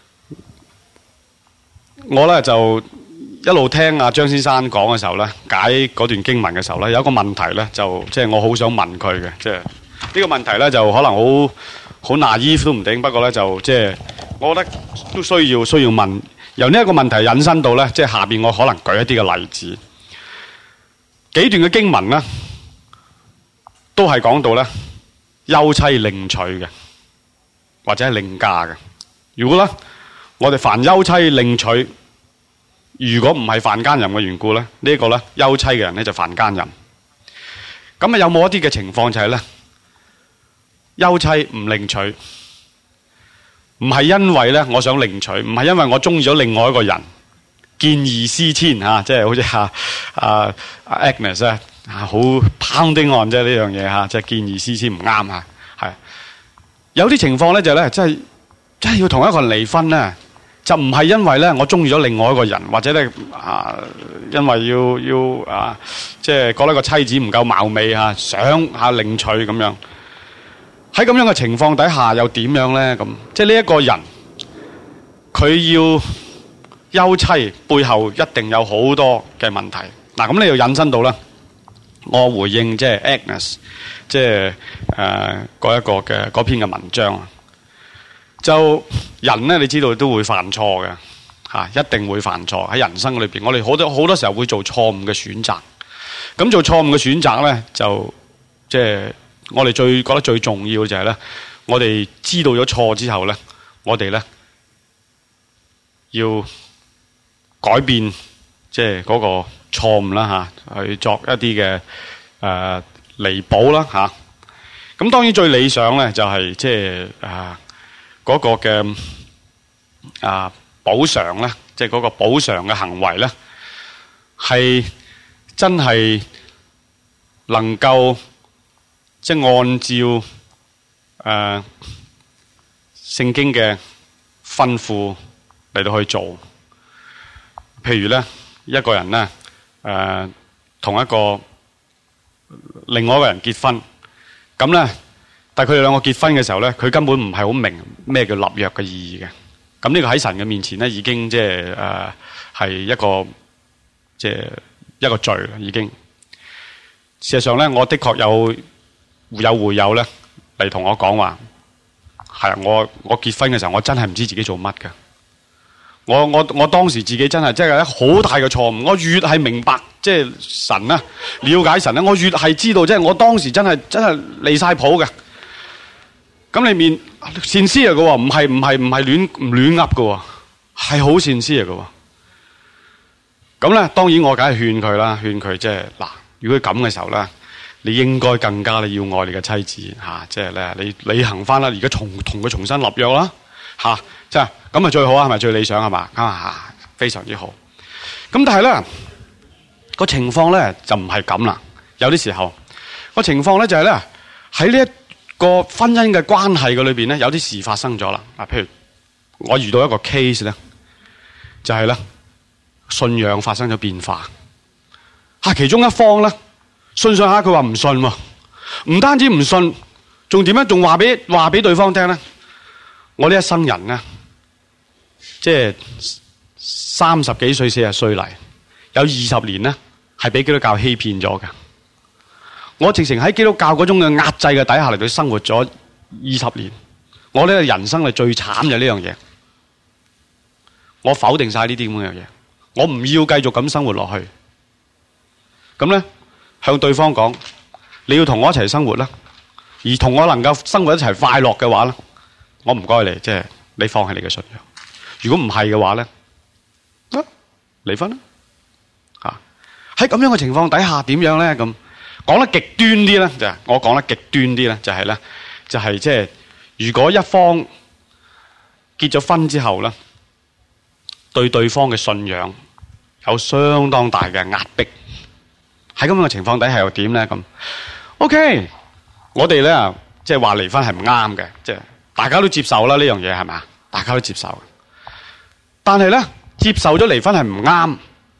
我咧就一路聽阿張先生講嘅時候咧，解嗰段經文嘅時候咧，有一個問題咧，就即係我好想問佢嘅，即係呢個問題咧，就可能好好 naive 都唔定，不過咧就即係我覺得都需要需要問。由呢一個問題引申到咧，即係下邊我可能舉一啲嘅例子，幾段嘅經文咧，都係講到咧休妻另娶嘅，或者係另嫁嘅。如果咧我哋凡休妻另娶，如果唔係犯奸淫嘅緣故咧，呢一個咧休妻嘅人咧就犯奸淫。咁啊有冇一啲嘅情況就係咧休妻唔另娶？唔係因為咧，我想另娶，唔係因為我中意咗另外一個人，見異思遷吓，即係好似阿阿阿 Agnes 啊，好 pounding on 啫呢樣嘢吓，即係見異思遷唔啱吓，係有啲情況咧就咧，即係即係要同一個人離婚咧，就唔係因為咧我中意咗另外一個人，或者咧啊，因為要要啊，即係覺得個妻子唔夠貌美吓，想下另娶咁樣。喺咁樣嘅情況底下又點樣咧？咁即係呢一個人佢要休妻背後一定有好多嘅問題。嗱，咁你又引申到咧，我回應即係 Agnes 即係誒嗰一個嘅嗰篇嘅文章啊。就人咧，你知道都會犯錯嘅嚇，一定會犯錯喺人生裏邊。我哋好多好多時候會做錯誤嘅選擇。咁做錯誤嘅選擇咧，就即係我哋最覺得最重要嘅就係咧，我哋知道咗錯之後咧，我哋咧要改變即係嗰個錯誤啦嚇，去作一啲嘅誒彌補啦嚇。咁當然最理想咧就係即係啊嗰個嘅啊補償咧，即係嗰個補償嘅行為咧，係真係能夠即係按照誒聖經嘅吩咐嚟到去做。譬如咧，一個人咧誒同一個另外一個人結婚。咁咧，但係佢哋兩個結婚嘅時候咧，佢根本唔係好明咩叫立約嘅意義嘅。咁呢個喺神嘅面前咧，已經即係誒係一個即係一個罪啦。已經事實上咧，我的確有有會友咧嚟同我講話，係啊，我我結婚嘅時候，我真係唔知自己做乜㗎。我我我當時自己真係即係一好大嘅錯誤。我越係明白即係神啊，了解神咧，我越係知道即係我當時真係真係離晒譜嘅。咁你面善思嚟嘅喎，唔係唔係唔係亂唔亂噏嘅喎，係好善思嚟嘅喎。咁咧，當然我梗係勸佢啦，勸佢即係嗱，如果咁嘅時候咧，你應該更加你要愛你嘅妻子嚇，即係咧你履行翻啦，而家重同佢重新立約啦嚇。即係咁咪最好啊，係咪最理想係嘛？啊，非常之好。咁但係咧個情況咧就唔係咁啦。有啲時候個情況咧就係咧喺呢一個婚姻嘅關係嘅裏邊咧，有啲事發生咗啦。啊，譬如我遇到一個 case 咧，就係咧信仰發生咗變化。嚇，其中一方咧信上下佢話唔信喎，唔單止唔信，仲點樣？仲話俾話俾對方聽咧，我呢一生人咧。即係三十幾歲、四十歲嚟，有二十年咧，係俾基督教欺騙咗嘅。我直情喺基督教嗰種嘅壓制嘅底下嚟到生活咗二十年。我呢個人生係最慘嘅呢樣嘢。我否定晒呢啲咁嘅嘢，我唔要繼續咁生活落去。咁咧，向對方講，你要同我一齊生活啦，而同我能夠生活一齊快樂嘅話咧，我唔該你，即係你放棄你嘅信仰。如果唔係嘅話咧，啊，離婚啦！嚇，喺咁樣嘅情況底下點樣咧？咁講得極端啲咧，就係我講得極端啲咧，就係咧，就係即係如果一方結咗婚之後咧，對對方嘅信仰有相當大嘅壓迫，喺咁樣嘅情況底下又點咧？咁 OK，我哋咧即係話離婚係唔啱嘅，即係大家都接受啦，呢樣嘢係咪？大家都接受。但係咧，接受咗離婚係唔啱，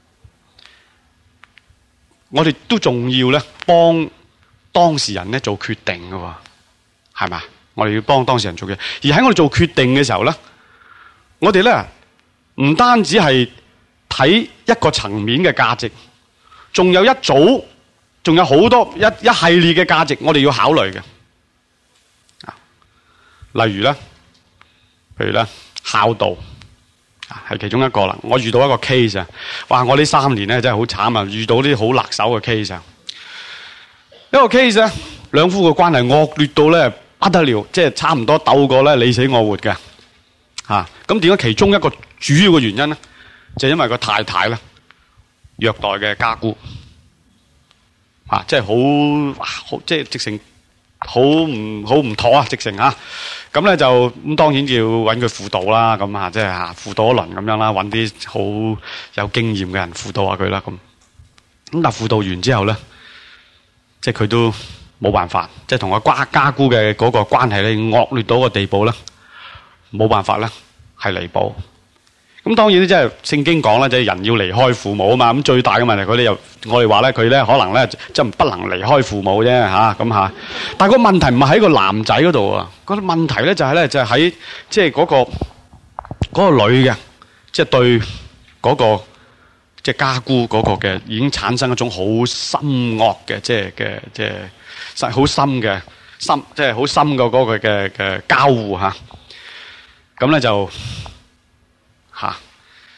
我哋都仲要咧幫當事人咧做決定㗎喎，係嘛？我哋要幫當事人做決定，而喺我哋做決定嘅時候咧，我哋咧唔單止係睇一個層面嘅價值，仲有一組，仲有好多一一系列嘅價值，我哋要考慮嘅。啊，例如咧，譬如咧，孝道。係其中一個啦，我遇到一個 case 啊，哇！我呢三年咧真係好慘啊，遇到啲好辣手嘅 case 啊。一個 case 咧，兩夫嘅關係惡劣到咧不得了，即係差唔多鬥過咧你死我活嘅嚇。咁點解其中一個主要嘅原因咧，就係因為個太太咧虐待嘅家姑啊，即係好好即係直情好唔好唔妥啊，直情啊！咁咧就咁當然要揾佢輔導啦，咁啊即係嚇輔導一輪咁樣啦，揾啲好有經驗嘅人輔導下佢啦，咁咁但係輔導完之後咧，即係佢都冇辦法，即係同個家家姑嘅嗰個關係咧惡劣到個地步咧，冇辦法咧係彌補。咁當然咧，即係聖經講咧，即係人要離開父母啊嘛。咁最大嘅問題，佢哋又我哋話咧，佢咧可能咧即係不能離開父母啫嚇咁嚇。但係個問題唔係喺個男仔嗰度啊，嗰個問題咧就係咧就係喺即係嗰個嗰個女嘅，即係對嗰個即係家姑嗰個嘅已經產生一種好深惡嘅即係嘅即係好深嘅深即係好深嘅嗰個嘅嘅交互嚇。咁咧就嚇，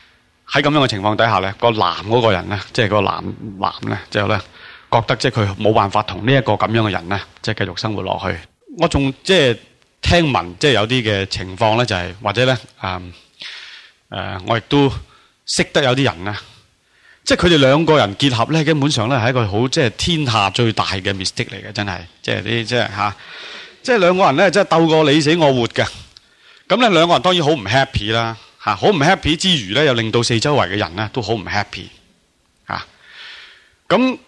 喺咁樣嘅情況底下咧，個男嗰個人咧，即係個男男咧，之後咧覺得即係佢冇辦法同呢一個咁樣嘅人咧，即係繼續生活落去。我仲即係聽聞，即係有啲嘅情況咧，就係或者咧，誒誒，我亦都識得有啲人咧，即係佢哋兩個人結合咧，基本上咧係一個好即係天下最大嘅 mistake 嚟嘅，真係，即係啲即係嚇，即係兩個人咧，即係鬥過你死我活嘅。咁咧兩個人當然好唔 happy 啦。嚇，好唔 happy 之餘咧，又令到四周圍嘅人咧都好唔 happy 嚇。咁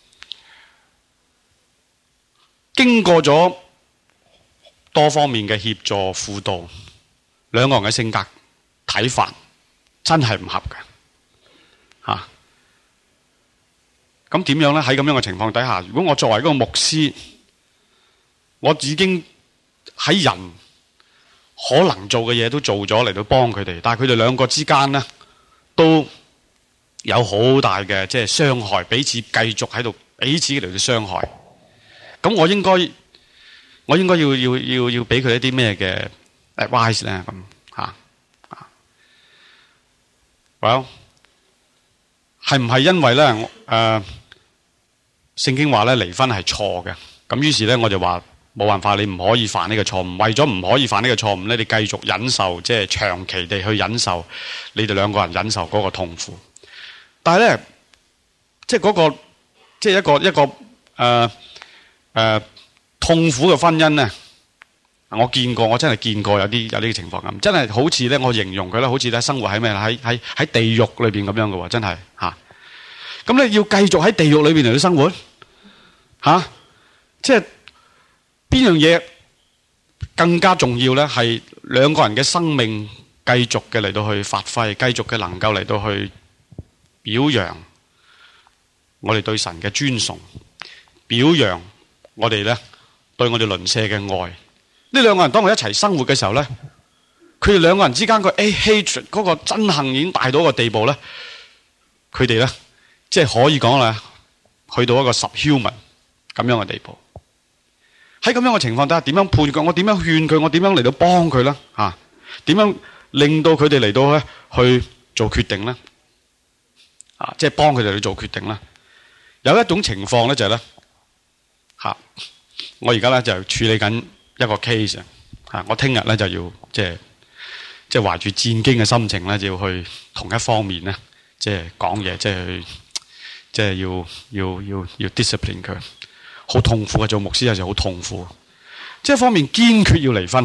經過咗多方面嘅協助輔導，兩個人嘅性格睇法真係唔合嘅嚇。咁點樣咧？喺咁樣嘅情況底下，如果我作為一個牧師，我已經喺人可能做嘅嘢都做咗嚟到幫佢哋，但係佢哋兩個之間呢，都有好大嘅即係傷害，彼此繼續喺度彼此嚟到傷害。咁我應該我應該要要要要俾佢一啲咩嘅 advice 咧？咁嚇啊 ，well 係唔係因為咧誒、呃、聖經話咧離婚係錯嘅？咁於是咧我就話。冇辦法，你唔可以犯呢個錯誤。為咗唔可以犯呢個錯誤咧，你繼續忍受，即係長期地去忍受你哋兩個人忍受嗰個痛苦。但係咧，即係嗰個，即係一個一個誒誒、呃呃、痛苦嘅婚姻咧，我見過，我真係見過有啲有呢個情況咁，真係好似咧，我形容佢咧，好似咧生活喺咩喺喺喺地獄裏邊咁樣嘅喎，真係嚇。咁你要繼續喺地獄裏邊嚟到生活嚇、啊，即係。邊樣嘢更加重要呢？係兩個人嘅生命繼續嘅嚟到去發揮，繼續嘅能夠嚟到去表揚我哋對神嘅尊崇，表揚我哋呢對我哋鄰舍嘅愛。呢兩個人當佢一齊生活嘅時候呢，佢哋兩個人之間個 hatred 嗰個憎恨已經大到一個地步呢，佢哋呢，即係可以講啦，去到一個 subhuman 咁樣嘅地步。喺咁樣嘅情況底下，點樣判佢？我點樣勸佢？我點樣嚟到幫佢咧？嚇、啊，點樣令到佢哋嚟到咧去做決定咧？啊，即係幫佢哋去做決定咧。有一種情況咧就係咧嚇，我而家咧就處理緊一個 case 啊，我聽日咧就要即係即係懷住戰驚嘅心情咧，就要去同一方面咧，即係講嘢，即係去即係要要要要 discipline 佢。好痛苦嘅，做牧師有時好痛苦，即係一方面堅決要離婚，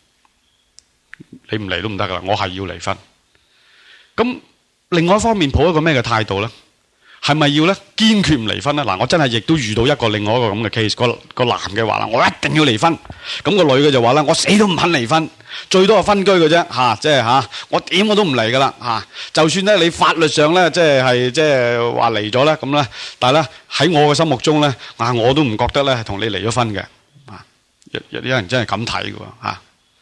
你唔離都唔得噶啦，我係要離婚。咁另外一方面抱一個咩嘅態度咧？係咪要咧堅決唔離婚咧？嗱，我真係亦都遇到一個另外一個咁嘅 case，個個男嘅話啦，我一定要離婚。咁個女嘅就話啦，我死都唔肯離婚，最多係分居嘅啫，吓，即係吓，我點我都唔離噶啦，吓，就算咧你法律上咧即係係即係話離咗咧，咁咧，但係咧喺我嘅心目中咧，啊，我都唔覺得咧係同你離咗婚嘅，啊，有有啲人真係咁睇嘅，吓。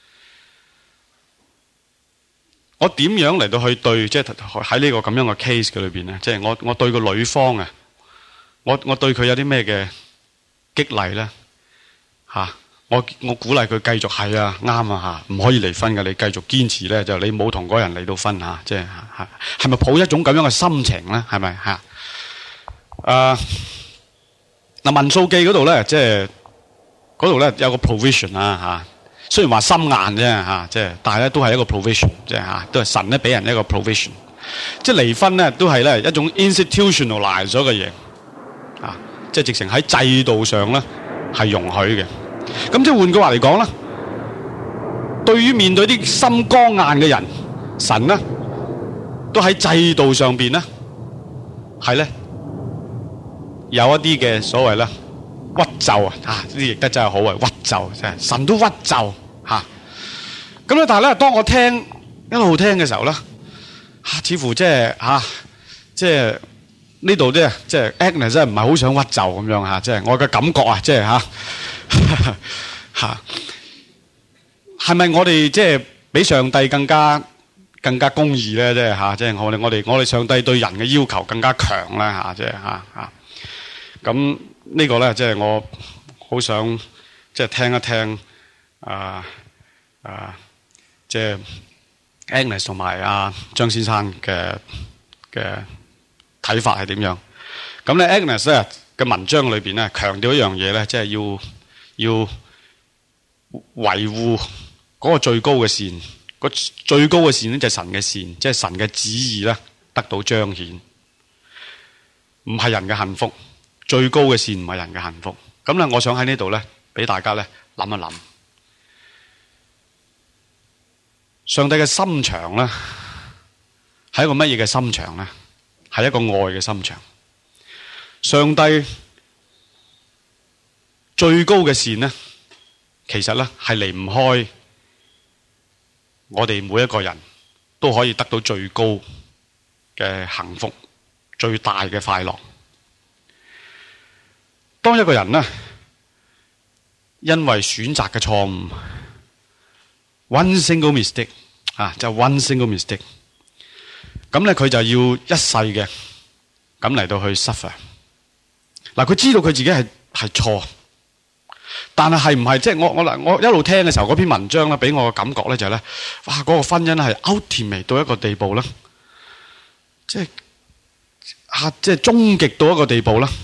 我點樣嚟到去對，即係喺呢個咁樣嘅 case 嘅裏邊咧，即係我我對個女方啊，我我對佢有啲咩嘅激勵咧？吓，我我鼓勵佢繼續係啊，啱啊吓，唔可以離婚嘅，你繼續堅持咧，就你冇同嗰人離到婚吓，即係吓，係咪抱一種咁樣嘅心情咧？係咪吓？誒，嗱，民數記嗰度咧，即係嗰度咧有個 provision 啊吓。雖然話心硬啫嚇，即係但係咧都係一個 provision，即係嚇，都係神咧俾人一個 provision。即係離婚咧都係咧一種 institutionalize 咗嘅嘢，啊，即係直情喺制度上咧係容許嘅。咁即係換句話嚟講咧，對於面對啲心剛硬嘅人，神咧都喺制度上邊咧係咧有一啲嘅所謂咧。屈就啊！啊，呢啲譯得真係好啊！屈就真係神都屈就嚇。咁咧，但係咧，當我聽一路聽嘅時候咧，嚇，似乎即係嚇，即係呢度咧，即係 Agnes 真係唔係好想屈就咁樣嚇，即係我嘅感覺啊，即係嚇嚇，係咪我哋即係比上帝更加更加公義咧？即係嚇，即係我哋我哋我哋上帝對人嘅要求更加強咧嚇，即係嚇嚇咁。呢個咧，即係我好想即係聽一聽啊啊，即係 Agnes 同埋阿張先生嘅嘅睇法係點樣？咁咧 Agnes 咧嘅文章裏邊咧強調一樣嘢咧，即係要要維護嗰個最高嘅善，個最高嘅善咧就係神嘅善，即係神嘅旨意咧得到彰顯，唔係人嘅幸福。最高嘅善唔係人嘅幸福。咁咧，我想喺呢度咧俾大家咧諗一諗。上帝嘅心腸咧，係一個乜嘢嘅心腸咧？係一個愛嘅心腸。上帝最高嘅善咧，其實咧係離唔開我哋每一個人都可以得到最高嘅幸福、最大嘅快樂。當一個人咧，因為選擇嘅錯誤 ，one single mistake 啊，就 one single mistake，咁咧佢就要一世嘅咁嚟到去 suffer。嗱，佢知道佢自己係係錯，但係係唔係即係我我嗱我一路聽嘅時候，嗰篇文章咧俾我嘅感覺咧就係咧，哇！嗰個婚姻係 ultimate 到一個地步啦，即係啊，即係終極到一個地步啦。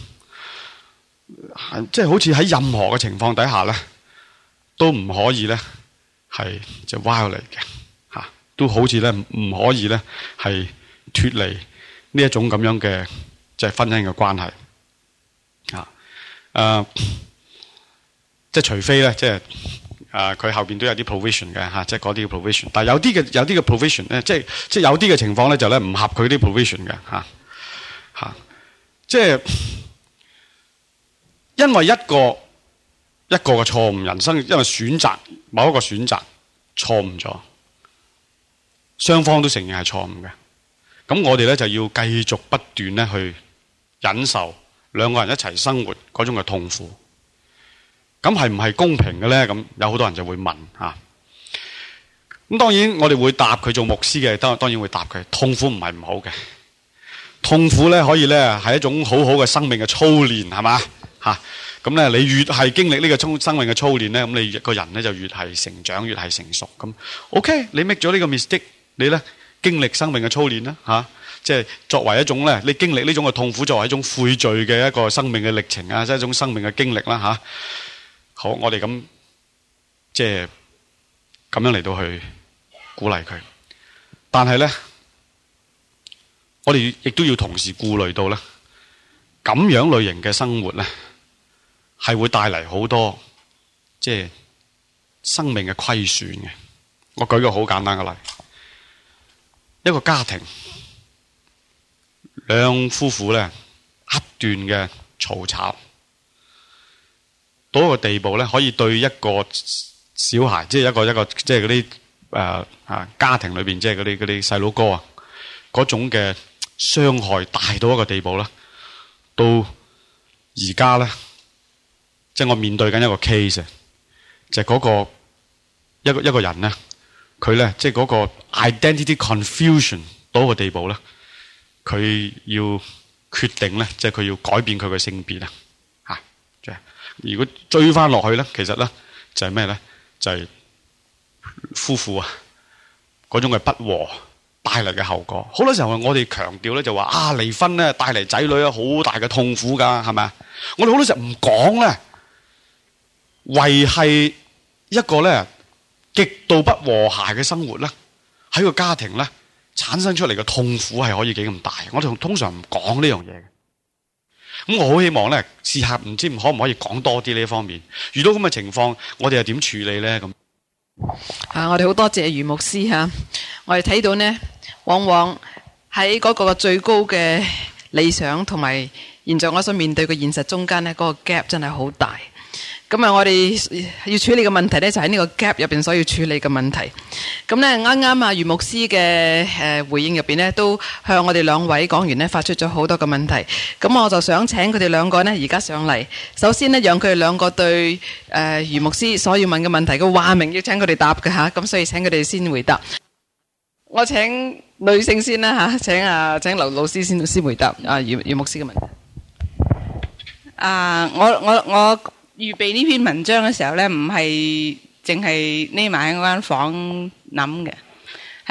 即係好似喺任何嘅情況底下咧，都唔可以咧係就 violate 嘅吓，都好似咧唔可以咧係脫離呢一種咁樣嘅即係婚姻嘅關係啊。誒，即係除非咧，即係誒佢後邊都有啲 provision 嘅吓，即係嗰啲 provision。但係有啲嘅有啲嘅 provision 咧，即係即係有啲嘅情況咧就咧唔合佢啲 provision 嘅吓吓，即係。因為一個一個嘅錯誤，人生因為選擇某一個選擇錯誤咗，雙方都承認係錯誤嘅。咁我哋咧就要繼續不斷咧去忍受兩個人一齊生活嗰種嘅痛苦。咁係唔係公平嘅咧？咁有好多人就會問吓。咁當然我哋會答佢，做牧師嘅，當當然會答佢。痛苦唔係唔好嘅，痛苦咧可以咧係一種好好嘅生命嘅操練，係嘛？吓，咁咧，你越係經歷呢個生生命嘅操練咧，咁你個人咧就越係成長，越係成熟。咁 OK，你 make 咗呢個 mistake，你咧經歷生命嘅操練啦，吓，即係作為一種咧，你經歷呢種嘅痛苦，作為一種悔罪嘅一個生命嘅歷程啊，即係一種生命嘅經歷啦，吓。好，我哋咁即係咁樣嚟到去鼓勵佢，但係咧，我哋亦都要同時顧慮到咧，咁樣類型嘅生活咧。係會帶嚟好多即係生命嘅虧損嘅。我舉個好簡單嘅例，一個家庭兩夫婦咧不斷嘅嘈吵，到一個地步咧，可以對一個小孩，即係一個一個即係嗰啲誒啊家庭裏邊，即係嗰啲嗰啲細佬哥啊，嗰種嘅傷害大到一個地步啦。到而家咧。即係我面對緊一個 case，就係嗰個一個一個人咧，佢咧即係嗰個 identity confusion 到一個地步咧，佢要決定咧，即係佢要改變佢嘅性別啦，吓，即係如果追翻落去咧，其實咧就係咩咧？就係夫婦啊嗰種嘅不和帶嚟嘅後果。好多時候我哋強調咧就話啊離婚咧帶嚟仔女啊好大嘅痛苦噶，係咪啊？我哋好多時候唔講咧。維繫一個咧極度不和諧嘅生活咧，喺個家庭咧產生出嚟嘅痛苦係可以幾咁大？我哋通常唔講呢樣嘢嘅。咁我好希望咧試下，唔知可唔可以講多啲呢方面？遇到咁嘅情況，我哋又點處理咧？咁啊，我哋好多謝余牧師吓。我哋睇到呢，往往喺嗰個最高嘅理想同埋現在我所面對嘅現實中間呢，嗰個 gap 真係好大。咁啊，我哋要處理嘅問題咧，就喺呢個 gap 入邊所要處理嘅問題。咁咧，啱啱啊，余牧師嘅誒回應入邊咧，都向我哋兩位講員咧發出咗好多嘅問題。咁我就想請佢哋兩個呢，而家上嚟。首先呢，讓佢哋兩個對誒余牧師所要問嘅問題嘅話明，要請佢哋答嘅吓。咁所以請佢哋先回答。我請女性先啦吓，請啊請劉老師先先回答啊余余牧師嘅問題。 啊，我我我。預備呢篇文章嘅時候呢，唔係淨係匿埋喺嗰間房諗嘅，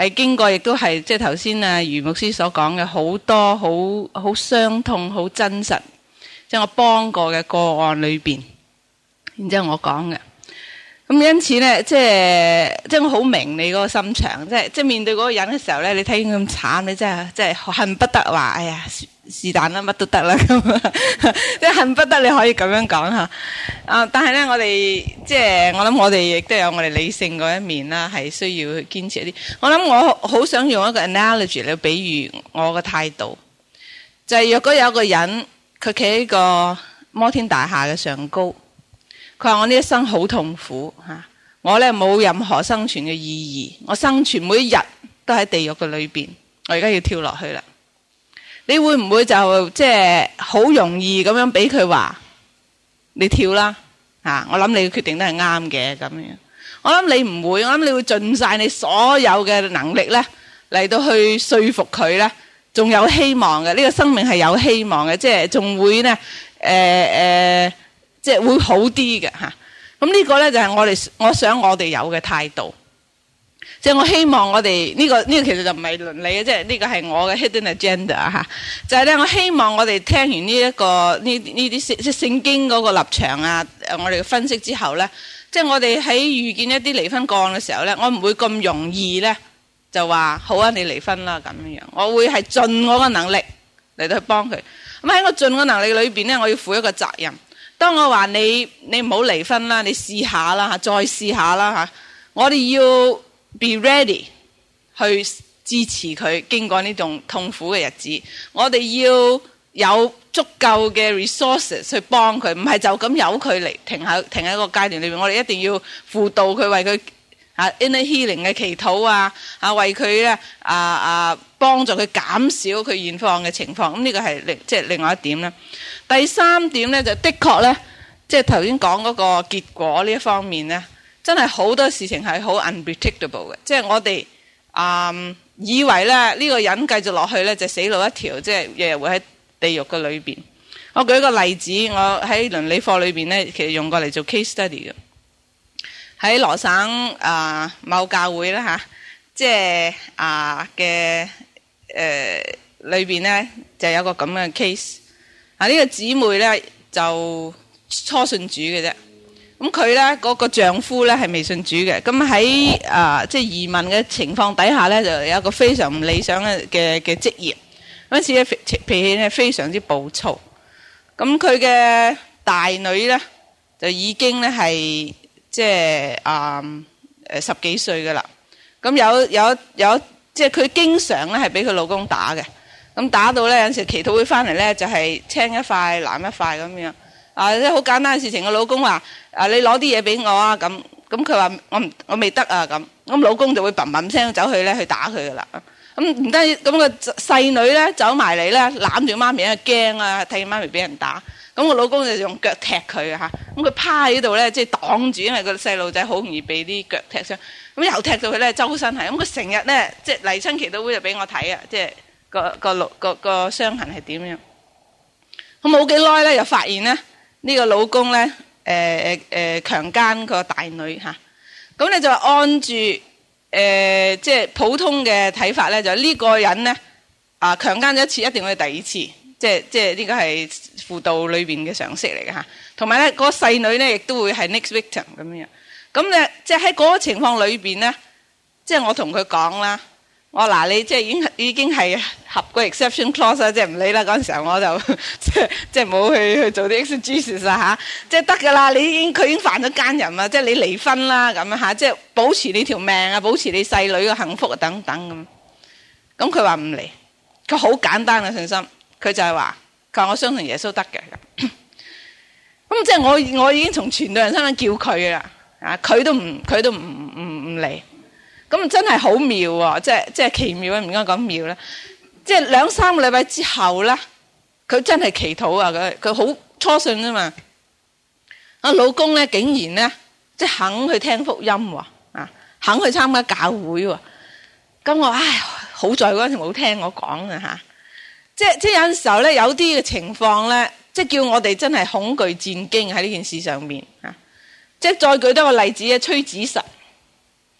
係經過亦都係即係頭先啊余牧師所講嘅好多好好傷痛、好真實，即係我幫過嘅個案裏邊，然之後我講嘅。咁因此咧，即係即係我好明你嗰個心腸，即係即係面對嗰個人嘅時候咧，你睇見咁慘，你真係真係恨不得話，哎呀是但啦，乜都得啦咁，即係恨不得你可以咁樣講吓。啊，但係咧，我哋即係我諗，我哋亦都有我哋理性嗰一面啦，係需要去堅持一啲。我諗我好想用一個 analogy 嚟比喻我嘅態度，就係、是、若果有個人佢企喺個摩天大廈嘅上高。佢話我呢一生好痛苦吓，我咧冇任何生存嘅意義，我生存每一日都喺地獄嘅裏邊，我而家要跳落去啦。你會唔會就即係好容易咁樣俾佢話你跳啦吓？我諗你嘅決定都係啱嘅咁樣。我諗你唔會，我諗你會盡晒你所有嘅能力咧嚟到去說服佢咧，仲有希望嘅。呢個生命係有希望嘅，即係仲會咧誒誒。呃呃即係會好啲嘅吓，咁呢個咧就係我哋我想我哋有嘅態度，即係我希望我哋呢個呢個其實就唔係倫理嘅，即係呢個係我嘅 hidden agenda 吓，就係咧我希望我哋聽完呢一個呢呢啲即係聖經嗰個立場啊，我哋嘅分析之後咧，即係我哋喺遇見一啲離婚個案嘅時候咧，我唔會咁容易咧就話好啊，你離婚啦咁樣樣，我會係盡我嘅能力嚟到去幫佢。咁喺我盡我能力裏邊咧，我要負一個責任。當我話你你唔好離婚啦，你試下啦吓，再試下啦吓，我哋要 be ready 去支持佢經過呢種痛苦嘅日子，我哋要有足夠嘅 resources 去幫佢，唔係就咁由佢嚟停喺停喺個階段裏面，我哋一定要輔導佢，為佢啊 inner healing 嘅祈禱啊，啊為佢咧啊啊幫助佢減少佢現況嘅情況，咁呢個係另即係另外一點啦。第三點咧就的確咧，即係頭先講嗰個結果呢一方面咧，真係好多事情係好 unpredictable 嘅，即係我哋啊、嗯、以為咧呢、呢個人繼續落去咧就死路一條，即係日日會喺地獄嘅裏邊。我舉一個例子，我喺倫理課裏邊咧，其實用過嚟做 case study 嘅，喺羅省啊、呃、某教會啦吓，即係啊嘅誒裏邊咧就有個咁嘅 case。啊！呢個姊妹咧就初信主嘅啫，咁佢咧嗰個丈夫咧係未信主嘅，咁喺啊即係移民嘅情況底下咧，就有一個非常唔理想嘅嘅嘅職業，嗰時咧脾氣咧非常之暴躁，咁佢嘅大女咧就已經咧係即係啊誒十幾歲噶啦，咁有有有即係佢經常咧係俾佢老公打嘅。咁打到咧有陣時祈禱會翻嚟咧就係、是、青一塊藍一塊咁樣啊！即係好簡單嘅事情。個老公話：啊，你攞啲嘢俾我啊！咁咁佢話：我唔我未得啊！咁咁老公就會砰砰聲走去咧去打佢噶啦。咁唔得咁個細女咧走埋嚟咧攬住媽咪，因為驚啊，睇見媽咪俾人打。咁個老公就用腳踢佢啊！咁佢趴喺度咧即係擋住，因為個細路仔好容易被啲腳踢傷。咁又踢到佢咧周身係。咁佢成日咧即係嚟親祈禱會就俾我睇啊！即係。個個個個傷痕係點樣？咁冇幾耐咧，又發現咧呢、這個老公咧，誒誒誒強姦個大女吓。咁、啊、你就按住誒、呃、即係普通嘅睇法咧，就呢個人咧啊強姦咗一次，一定會第二次，即係即係呢個係輔導裏邊嘅常識嚟嘅吓。同埋咧，嗰、那個細女咧亦都會係 next victim 咁樣。咁咧即係喺嗰個情況裏邊咧，即係我同佢講啦。我嗱你即係已經已經係合個 exception clause 啦，即係唔理啦。嗰陣時候我就即係即係冇去去做啲 exegesis 啦吓，即係得噶啦。你已經佢已經犯咗奸淫啦，即係你離婚啦咁樣吓，即係保持你條命啊，保持你細女嘅幸福啊等等咁。咁佢話唔離，佢好簡單嘅信心，佢就係話佢話我相信耶穌得嘅。咁即係我我已經從傳道人身份叫佢啦，啊佢都唔佢都唔唔唔離。咁真係好妙喎，即係即係奇妙啊！唔應該講妙啦，即係兩三個禮拜之後咧，佢真係祈禱啊！佢佢好初信啊嘛，啊老公咧竟然咧即係肯去聽福音喎，啊肯去參加教會喎，咁我唉好在嗰陣時冇聽我講啊吓，即係即係有陣時候咧有啲嘅情況咧，即係叫我哋真係恐懼戰驚喺呢件事上面啊！即係再舉多個例子啊，崔子實。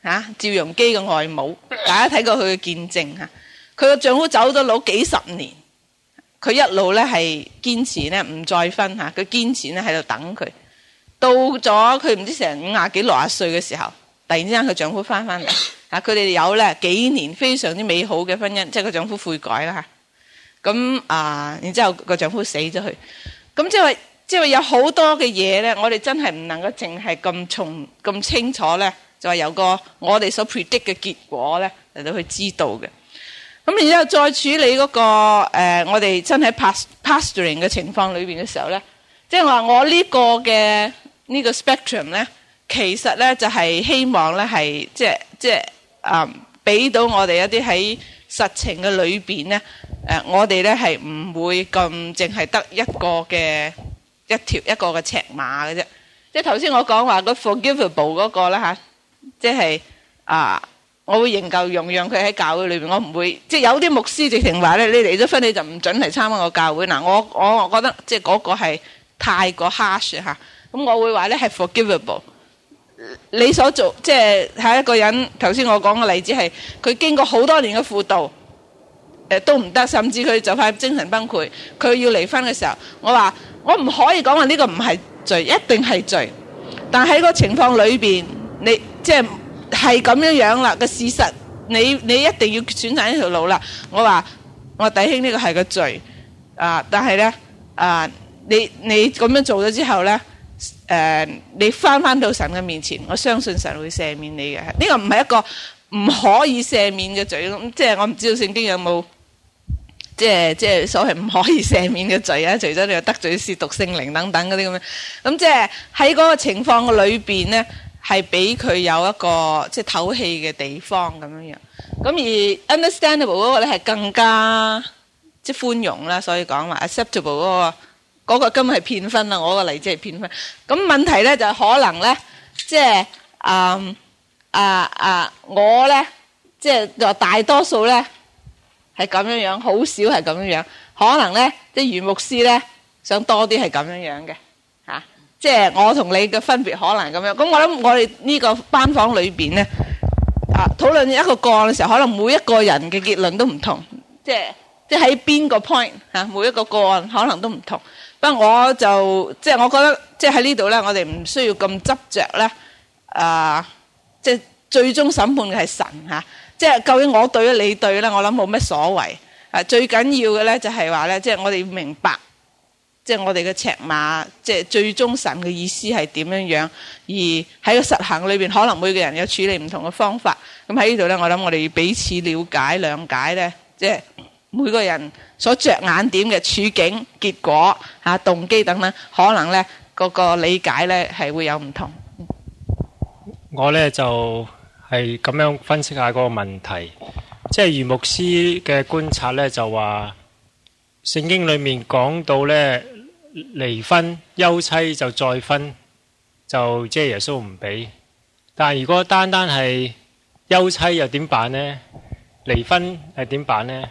嚇趙容基嘅外母，大家睇過佢嘅見證嚇。佢個丈夫走咗佬幾十年，佢一路咧係堅持咧唔再婚嚇，佢堅持咧喺度等佢。到咗佢唔知成五廿幾六廿歲嘅時候，突然之間佢丈夫翻翻嚟嚇，佢哋有咧幾年非常之美好嘅婚姻，即係個丈夫悔改啦嚇。咁啊，然之後個丈夫死咗去，咁即係話即係話有好多嘅嘢咧，我哋真係唔能夠淨係咁從咁清楚咧，就係有個我哋所 predict 嘅結果咧嚟到去知道嘅。咁然之後再處理嗰、那個、呃、我哋真係 pastoring 嘅情況裏邊嘅時候咧，即係話我呢個嘅呢個 spectrum 咧，其實咧就係、是、希望咧係即係即係啊，俾、呃、到我哋一啲喺實情嘅裏邊咧，誒、呃、我哋咧係唔會咁淨係得一個嘅一條一個嘅尺碼嘅啫。即係頭先我講話個 forgivable 嗰個啦嚇，即係啊。呃我會仍舊容讓佢喺教會裏邊，我唔會即係有啲牧師直情話咧，你離咗婚你就唔准嚟參加我教會。嗱，我我覺得即係嗰個係太過 harsh 嚇，咁我會話咧係 forgivable。你所做即係係一個人，頭先我講嘅例子係佢經過好多年嘅輔導，誒都唔得，甚至佢就快精神崩潰，佢要離婚嘅時候，我話我唔可以講話呢個唔係罪，一定係罪。但喺個情況裏邊，你即係。係咁樣樣啦，個事實你你一定要選擇呢條路啦。我話我弟兄呢個係個罪啊，但係咧啊，你你咁樣做咗之後咧，誒、呃，你翻翻到神嘅面前，我相信神會赦免你嘅。呢、這個唔係一個唔可以赦免嘅罪，咁即係我唔知道聖經有冇即係即係所謂唔可以赦免嘅罪啊？除咗你得罪褻瀆聖靈等等嗰啲咁樣，咁即係喺嗰個情況嘅裏邊咧。係俾佢有一個即係透氣嘅地方咁樣樣，咁而 understandable 嗰個咧係更加即係寬容啦，所以講話 acceptable 嗰個嗰個根本係騙婚啦，我個例子係騙婚。咁問題咧就係可能咧，即係啊啊啊我咧，即係話大多數咧係咁樣樣，好少係咁樣樣，可能咧即係余牧師咧想多啲係咁樣樣嘅。即係我同你嘅分別可能咁樣，咁我諗我哋呢個班房裏邊咧，啊討論一個個案嘅時候，可能每一個人嘅結論都唔同，即係即係喺邊個 point 嚇，每一個個案可能都唔同。不過我就即係我覺得，即係喺呢度咧，我哋唔需要咁執着咧，啊，即係最終審判嘅係神嚇，即係究竟我對咧你對咧，我諗冇乜所謂。啊，最緊要嘅咧就係話咧，即係我哋要明白。即係我哋嘅尺碼，即係最終神嘅意思係點樣樣，而喺個實行裏邊，可能每個人有處理唔同嘅方法。咁喺呢度咧，我諗我哋要彼此了解、諒解咧，即係每個人所着眼點嘅處境、結果、嚇動機等等，可能咧嗰個理解咧係會有唔同。 我咧就係咁樣分析下嗰個問題，即係余牧師嘅觀察咧，就話聖經裏面講到咧。離婚休妻就再婚，就即係耶穌唔俾。但係如果單單係休妻又點辦呢？離婚係點辦呢？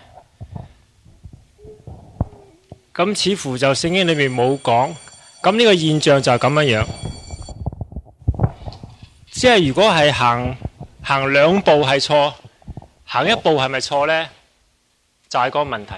咁似乎就聖經裏面冇講。咁呢個現象就係咁樣樣。即係如果係行行兩步係錯，行一步係咪錯呢？就係、是、個問題。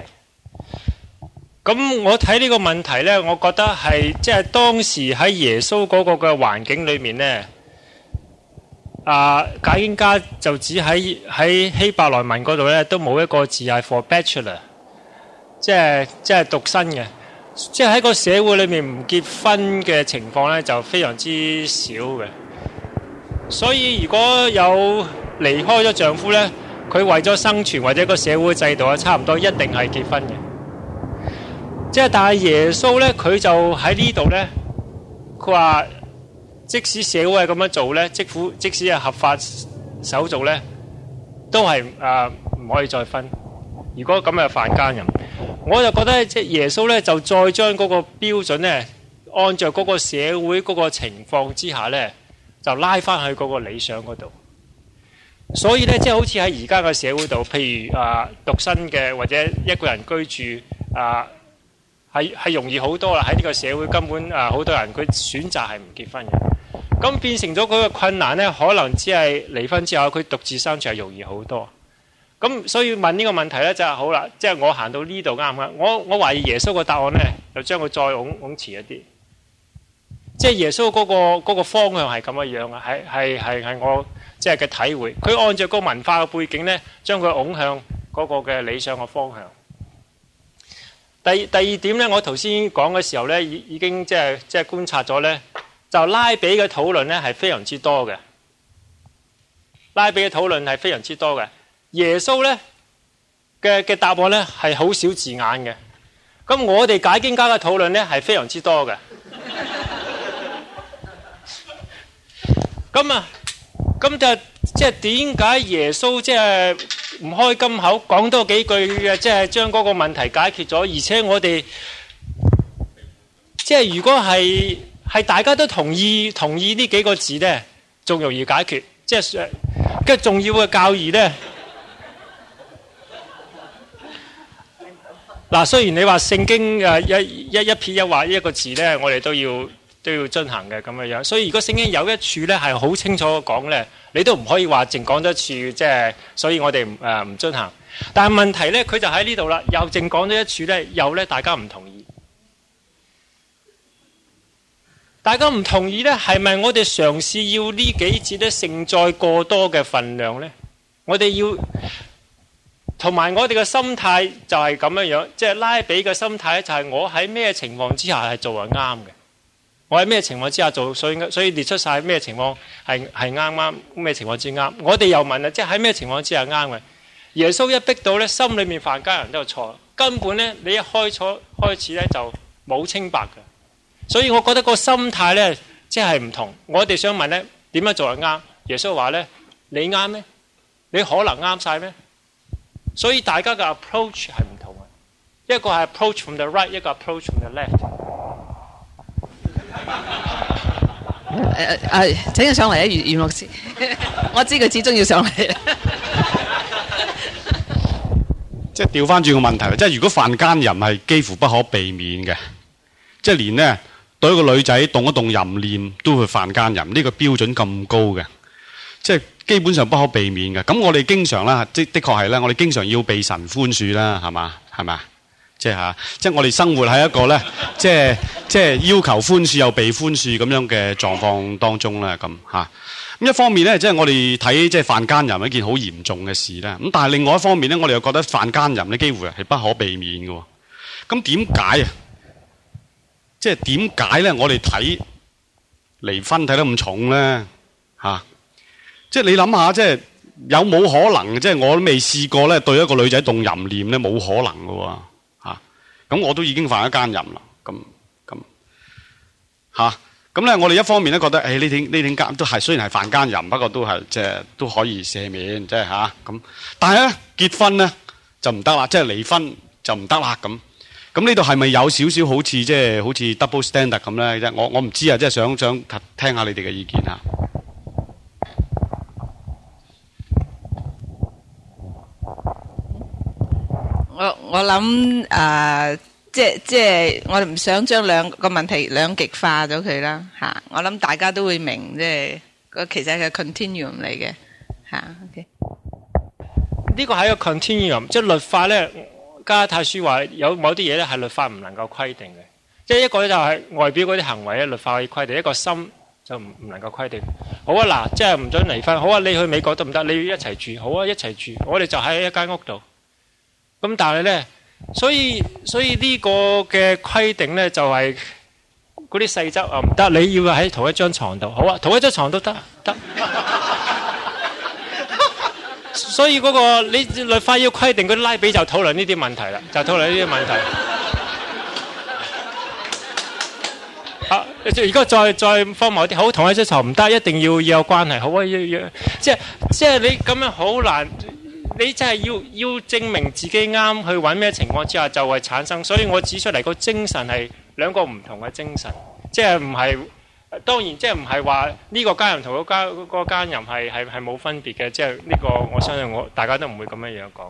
咁我睇呢個問題呢，我覺得係即係當時喺耶穌嗰個嘅環境裏面呢，啊解經家就只喺喺希伯來文嗰度呢，都冇一個字係 for bachelor， 即係即係獨身嘅，即係喺個社會裏面唔結婚嘅情況呢，就非常之少嘅。所以如果有離開咗丈夫呢，佢為咗生存或者個社會制度啊，差唔多一定係結婚嘅。即係，但係耶穌咧，佢就喺呢度咧。佢話，即使社會係咁樣做咧，即使即使係合法手續咧，都係誒唔可以再分。如果咁係犯奸淫，我就覺得即係耶穌咧，就再將嗰個標準咧，按照嗰個社會嗰個情況之下咧，就拉翻去嗰個理想嗰度。所以咧，即係好似喺而家嘅社會度，譬如啊獨身嘅或者一個人居住啊。係係容易好多啦！喺呢個社會根本啊，好多人佢選擇係唔結婚嘅。 咁變成咗佢嘅困難咧，可能只係離婚之後佢獨自相處係容易好多。咁所以問呢個問題咧就係好啦，即係我行到呢度啱唔啱？我我懷疑耶穌個答案咧，就將佢再往往前一啲。即係耶穌嗰個嗰個方向係咁嘅樣啊，係係係係我即係嘅體會。佢按照個文化嘅背景咧，將佢拱向嗰個嘅理想嘅方向。第第二點咧，我頭先講嘅時候咧，已已經即係即係觀察咗咧，就拉比嘅討論咧係非常之多嘅。拉比嘅討論係非常之多嘅。耶穌咧嘅嘅答案咧係好少字眼嘅。咁我哋解經家嘅討論咧係非常之多嘅。咁啊，咁就即係點解耶穌即係唔開金口講多幾句嘅，即係將嗰個問題解決咗？而且我哋即係如果係係大家都同意同意呢幾個字咧，仲容易解決。即係嘅重要嘅教義咧，嗱，雖然你話聖經誒一一一撇一畫一個字咧，我哋都要。都要遵行嘅咁嘅樣，所以如果聖經有一處咧係好清楚講咧，你都唔可以話淨講咗一處，即係所以我哋誒唔遵行。但係問題咧，佢就喺呢度啦，又淨講咗一處咧，又咧大家唔同意。大家唔同意咧，係咪我哋嘗試要呢幾節咧承載過多嘅份量咧？我哋要同埋我哋嘅心態就係咁樣樣，即係拉比嘅心態咧，就係我喺咩情況之下係做係啱嘅。我喺咩情況之下做，所以所以列出晒咩情況係係啱啱，咩情況之啱。我哋又問啦，即係喺咩情況之下啱嘅？耶穌一逼到咧，心裏面犯奸人都有錯，根本咧你一開初開始咧就冇清白嘅。所以我覺得個心態咧即係唔同。我哋想問咧點樣做係啱？耶穌話咧你啱咩？你可能啱晒咩？所以大家嘅 approach 係唔同嘅，一個係 approach from the right， 一個 approach from the left。 誒誒，請佢上嚟啊，袁袁牧師，我知佢始終要上嚟。 即係調翻轉個問題，即係如果犯奸淫係幾乎不可避免嘅，即係連呢對一個女仔動一動淫念都會犯奸淫，呢個標準咁高嘅，即係基本上不可避免嘅。咁我哋經常啦，即的確係咧，我哋經常要被神寬恕啦，係嘛，係嘛。即係嚇，即係我哋生活喺一個咧，即係即係要求寬恕又被寬恕咁樣嘅狀況當中啦，咁嚇。咁一方面咧，即係我哋睇即係犯奸淫係一件好嚴重嘅事啦。咁但係另外一方面咧，我哋又覺得犯奸淫咧幾乎係不可避免嘅。咁點解啊？即係點解咧？我哋睇離婚睇得咁重咧嚇？即係你諗下，即係有冇可能？即係我都未試過咧，對一個女仔動淫念咧，冇可能嘅喎。咁我都已經犯咗奸淫啦，咁咁嚇，咁咧我哋一方面咧覺得，誒呢啲呢啲奸都係雖然係犯奸淫，不過都係即係都可以赦免，即係嚇咁。但係咧結婚咧就唔得啦，即係離婚就唔得啦咁。咁呢度係咪有少少好似即係好似 double standard 咁咧？我我唔知啊，即係想想聽下你哋嘅意見啊。 我我諗誒，即係即係我哋唔想將兩個問題兩極化咗佢啦嚇。我諗大家都會明，即係個其實係 continuum 嚟嘅嚇。OK， 呢個係一個 continuum，即係律法咧。加拉太書話有某啲嘢咧係律法唔能夠規定嘅，即係一個咧就係外表嗰啲行為咧，律法可以規定；一個心就唔唔能夠規定。好啊，嗱，即係唔准離婚。好啊，你去美國得唔得？你要一齊住。好啊，一齊住。我哋就喺一間屋度。咁但係咧，所以所以呢個嘅規定咧就係嗰啲細則啊唔得，你要喺同一張床度。好啊，同一張床都得得。所以嗰、那個你律法要規定，嗰啲拉比就討論呢啲問題啦，就討論呢啲問題。啊，而家再再荒謬啲，好，同一張床唔得，一定要要有關係。好啊，要要，即係即係你咁樣好難。你真係要要證明自己啱，去揾咩情況之下就會產生。所以我指出嚟個精神係兩個唔同嘅精神，即係唔係當然即係唔係話呢個奸淫同嗰奸嗰個奸淫係係係冇分別嘅。即係呢個我相信我大家都唔會咁樣樣講。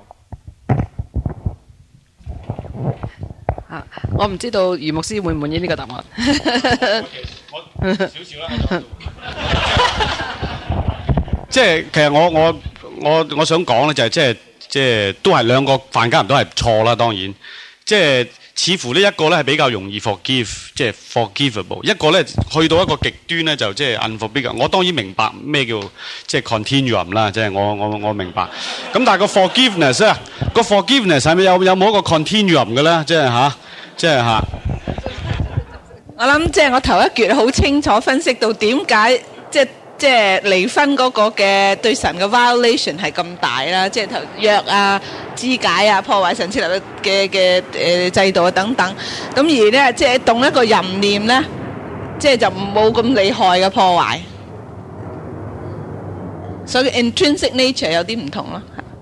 啊，我唔知道余牧師會唔滿意呢個答案。 我少少啦。 即係其實我我我我想講咧就係即係即係都係兩個犯家人都係錯啦，當然即係似乎呢一個咧係比較容易 forgive， 即係 forgivable， 一個咧去到一個極端咧就即係 unforgivable。我當然明白咩叫即係 continuum 啦，即係我我我明白。咁但係個 forgiveness 啊，個 forgiveness 係咪有有冇一個 continuum 嘅咧？即係吓，即係吓。 我諗即係我頭一橛好清楚分析到點解即係。即係離婚嗰個嘅對神嘅 violation 係咁大啦，即係頭約啊、肢解啊、破壞神設立嘅嘅誒制度啊等等。咁而咧，即係動一個淫念咧，即係就冇咁厲害嘅破壞。所以 intrinsic nature 有啲唔同咯。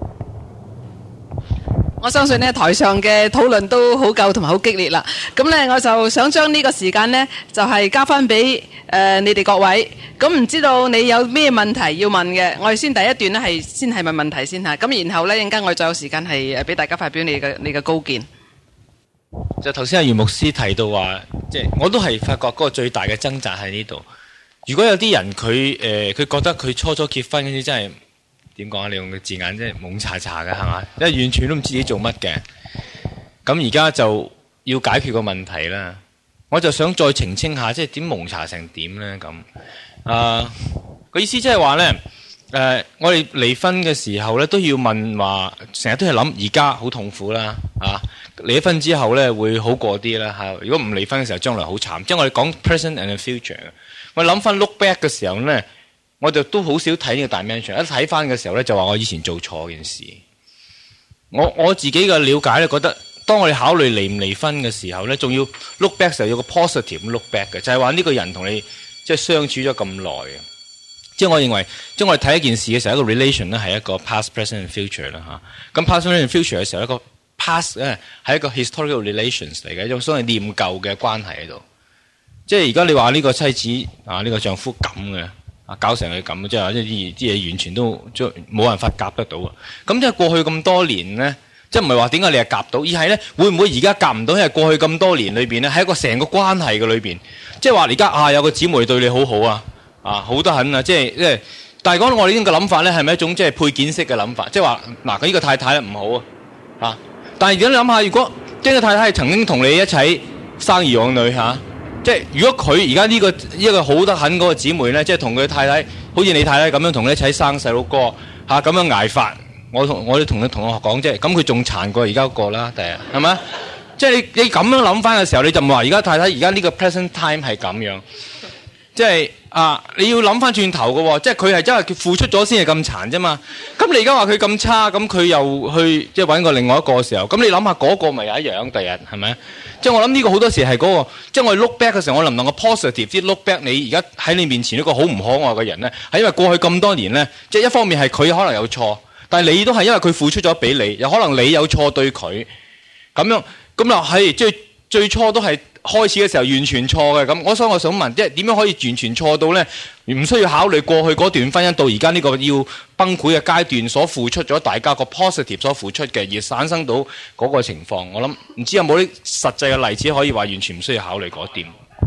我相信呢台上嘅討論都好夠同埋好激烈啦。咁呢，我就想將呢個時間呢，就係、是、交翻俾誒你哋各位。咁唔知道你有咩問題要問嘅？我哋先第一段呢，係先係問問題先嚇。咁然後呢，陣間我哋再有時間係誒俾大家發表你嘅你嘅高見。 就頭先阿袁牧師提到話，即係我都係發覺嗰個最大嘅掙扎喺呢度。如果有啲人佢誒佢覺得佢初初結婚嗰啲真係。點講啊？你用嘅字眼即係懵查查嘅係嘛？即係完全都唔知自己做乜嘅。咁而家就要解決個問題啦。我就想再澄清下，即係點懵查成點咧？咁啊個意思即係話咧，誒、呃、我哋離婚嘅時候咧都要問話，成日都係諗而家好痛苦啦，啊離咗婚之後咧會好過啲啦嚇。如果唔離婚嘅時候，將來好慘。即係我哋講 present and future。我諗翻 look back 嘅時候咧。我就都好少睇呢個 dimension，一睇翻嘅時候咧，就話我以前做錯件事。我我自己嘅了解咧，覺得當我哋考慮離唔離婚嘅時候咧，仲要 look back 時候有個 positive look back 嘅，就係話呢個人同你即係相處咗咁耐嘅。即係我認為，即係我哋睇一件事嘅時候，一個 relation 咧係一個 past、present and future 啦嚇。咁 past、present and future 嘅時候，一個 past 咧係一個 historical relations 嚟嘅，一種所謂念舊嘅關係喺度。即係而家你話呢個妻子啊，呢、呢個丈夫咁嘅。搞成佢咁，即係話即係啲啲嘢完全都冇辦法夾得到啊！咁即係過去咁多年咧，即係唔係話點解你係夾到，而係咧會唔會而家夾唔到？因為過去咁多年裏邊咧，喺一個成個關係嘅裏邊，即係話而家啊有個姊妹對你好好啊，啊好得很啊！即係即係，但係講到我哋呢種嘅諗法咧，係咪一種即係配件式嘅諗法？即係話嗱，佢呢個太太唔好啊，啊！但係如果你諗下，如果呢個太太係曾經同你一齊生兒養女嚇。啊即係如果佢而家呢個一個好得很嗰個姊妹咧，即係同佢太太，好似你太太咁樣同你一齊生細佬哥嚇咁樣捱法，我同我哋同啲同學講啫，咁佢仲殘過而家嗰個啦，第日係咪？即係你你咁樣諗翻嘅時候，你就唔話而家太太而家呢個 present time 係咁樣，即係啊你要諗翻轉頭嘅喎，即係佢係因為佢付出咗先係咁殘啫嘛。咁你而家話佢咁差，咁佢又去即係揾個另外一個嘅時候，咁你諗下嗰個咪又一樣，第日係咪？即係我諗呢個好多時係嗰個，即係我哋 look back 嘅時候，我能唔能夠 positive 啲 look back 你而家喺你面前一個好唔可愛嘅人咧？係因為過去咁多年咧，即係一方面係佢可能有錯，但係你都係因為佢付出咗俾你，又可能你有錯對佢，咁樣咁又係即係最初都係開始嘅時候完全錯嘅咁。我所以我想問，即係點樣可以完全錯到咧？唔需要考慮過去嗰段婚姻到而家呢個要崩潰嘅階段所付出咗大家個 positive 所付出嘅，而產生到嗰個情況。我諗唔知有冇啲實際嘅例子可以話完全唔需要考慮嗰點。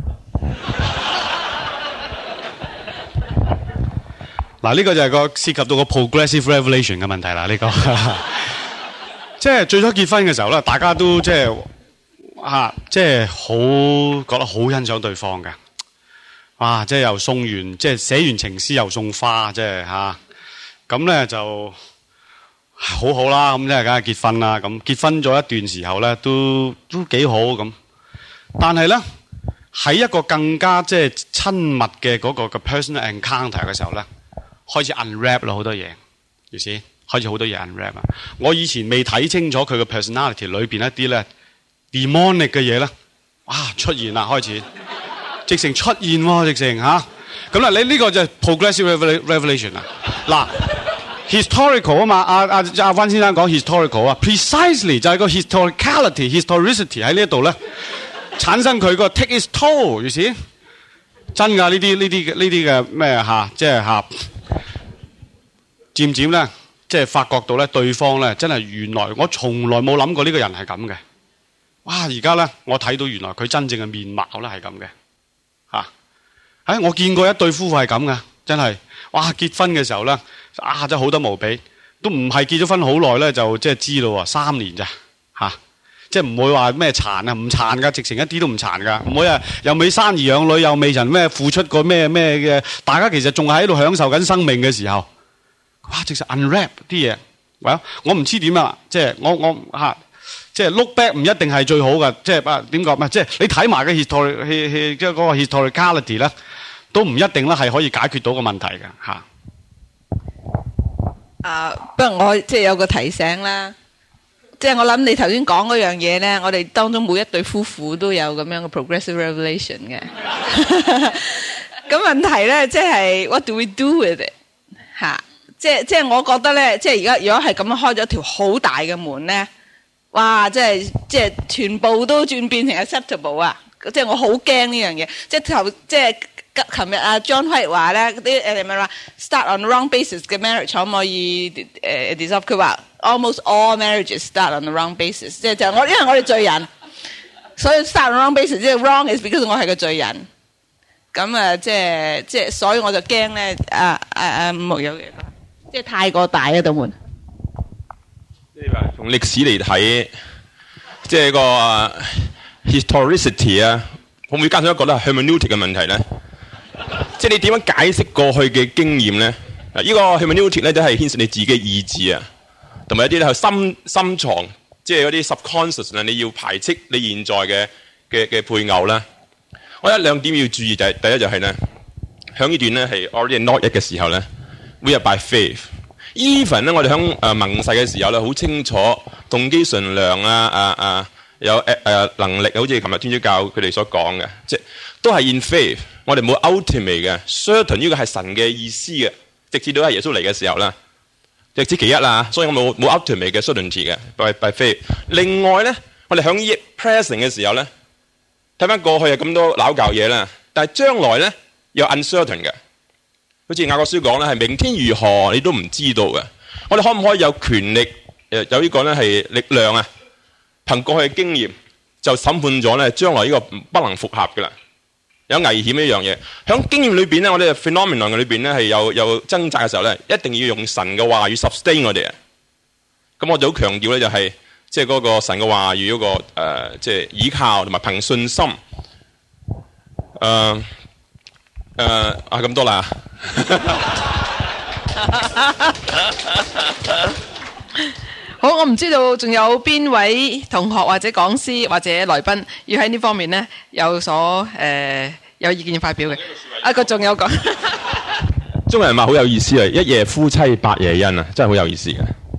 嗱，呢個就係個涉及到個 progressive revelation 嘅問題啦。呢、呢個即係最初結婚嘅時候咧，大家都即係啊，即係好覺得好欣賞對方嘅。哇！即係又送完，即係寫完情詩又送花，即係吓咁咧就好好啦。咁即係梗係結婚啦。咁結婚咗一段時候咧，都都幾好咁。但係咧喺一個更加即係親密嘅嗰個嘅 personal encounter 嘅時候咧，開始 unwrap 啦好多嘢，意思開始好多嘢 unwrap 啊！我以前未睇清楚佢嘅 personality 裏邊一啲咧 demonic 嘅嘢咧，哇出現啦開始。直情出現喎，直情吓咁啦！你呢個就係 progressive revelation 啊！嗱 ，historical 啊嘛，阿阿阿溫先生講 historical 啊 ，precisely 就係個 historicality、historicity 喺呢一度咧，產生佢個 take its toll，you see？真㗎呢啲呢啲呢啲嘅咩吓，即係吓，漸漸咧，即係發覺到咧，對方咧真係原來我從來冇諗過呢個人係咁嘅。哇！而家咧，我睇到原來佢真正嘅面貌咧係咁嘅。 哎，我見過一對夫婦係咁噶，真係，哇！結婚嘅時候咧，啊，真係好得無比，都唔係結咗婚好耐咧，就即係知咯，三年咋嚇。啊即係唔會話咩殘啊，唔殘噶，直情一啲都唔殘噶，唔會啊，又未生兒養女，又未曾咩付出過咩咩嘅，大家其實仲係喺度享受緊生命嘅時候，哇！直情 unwrap 啲嘢，喂，我唔知點啊，即係我我嚇，即係 look back 唔一定係最好噶，即係啊點講咩？即係你睇埋嘅 history 即係嗰個 historicality 咧，都唔一定咧係可以解決到個問題嘅嚇。 啊，不過我即係有個提醒啦。即係我諗你頭先講嗰樣嘢咧，我哋當中每一對夫婦都有咁樣嘅 progressive revelation 嘅。咁問題咧，即係 what do we do with it？ 嚇，即係即係我覺得咧，即係而家如果係咁樣開咗條好大嘅門咧，哇！即係即係全部都轉變成 acceptable 啊！即係我好驚呢樣嘢。即係頭即係琴日阿 John White 話咧，啲誒咪話 start on the wrong basis 嘅 marriage 可唔可以誒 dissolve？ 佢話 almost all marriages start on the wrong basis， 即係就我因為我哋罪人，所以 start on the wrong basis， 即係 wrong is because 我係個罪人。咁啊，即係即係，所以我就驚咧，啊啊啊冇有嘢，即係太過大一道門。 即係話從歷史嚟睇，即係個 historicity 啊，可唔可以加上一個咧 hermeneutic 嘅問題咧？即係你點樣解釋過去嘅經驗咧？嗱，呢個 hermeneutic 咧都係牽涉你自己嘅意志啊，同埋一啲咧係深深藏，即係嗰啲 subconscious 咧，你要排斥你現在嘅嘅嘅配偶啦。我有兩點要注意就係、是、第一就係咧，響呢段咧係 already not yet 嘅時候咧 ，we are by faith。even 咧，我哋響誒盟誓嘅時候咧，好清楚動機純良啊啊啊，有誒誒、呃、能力，好似琴日天主教佢哋所講嘅，即係都係 in faith。我哋冇 ultimate 嘅 certain 呢個係神嘅意思嘅，直至到係耶穌嚟嘅時候啦，直至其一啦，所以我冇冇 ultimate 嘅 certainty 嘅 by by faith。另外咧，我哋響呢 present 嘅時候咧，睇翻過去有咁多拗教嘢啦，但係將來咧有 uncertain 嘅，好似雅各書講咧，係明天如何你都唔知道嘅。我哋可唔可以有權力誒有呢個咧係力量啊？憑過去嘅經驗就審判咗咧將來呢個不能復合嘅啦。有危險一樣嘢，喺經驗裏邊咧，我哋 phenomenon 嘅裏邊咧係有有掙扎嘅時候咧，一定要用神嘅話語 sustain 我哋啊。咁我就好強調咧，就係即係嗰個神嘅話語嗰、那個誒，即、呃、係、就是、依靠同埋憑信心。誒、呃、誒啊咁多啦。 好，我唔知道仲有邊位同學或者講師或者來賓要喺呢方面呢有所誒、呃、有意見發表嘅。啊，個仲有講， 中國人話好有意思啊！一夜夫妻百夜恩啊，真係好有意思嘅。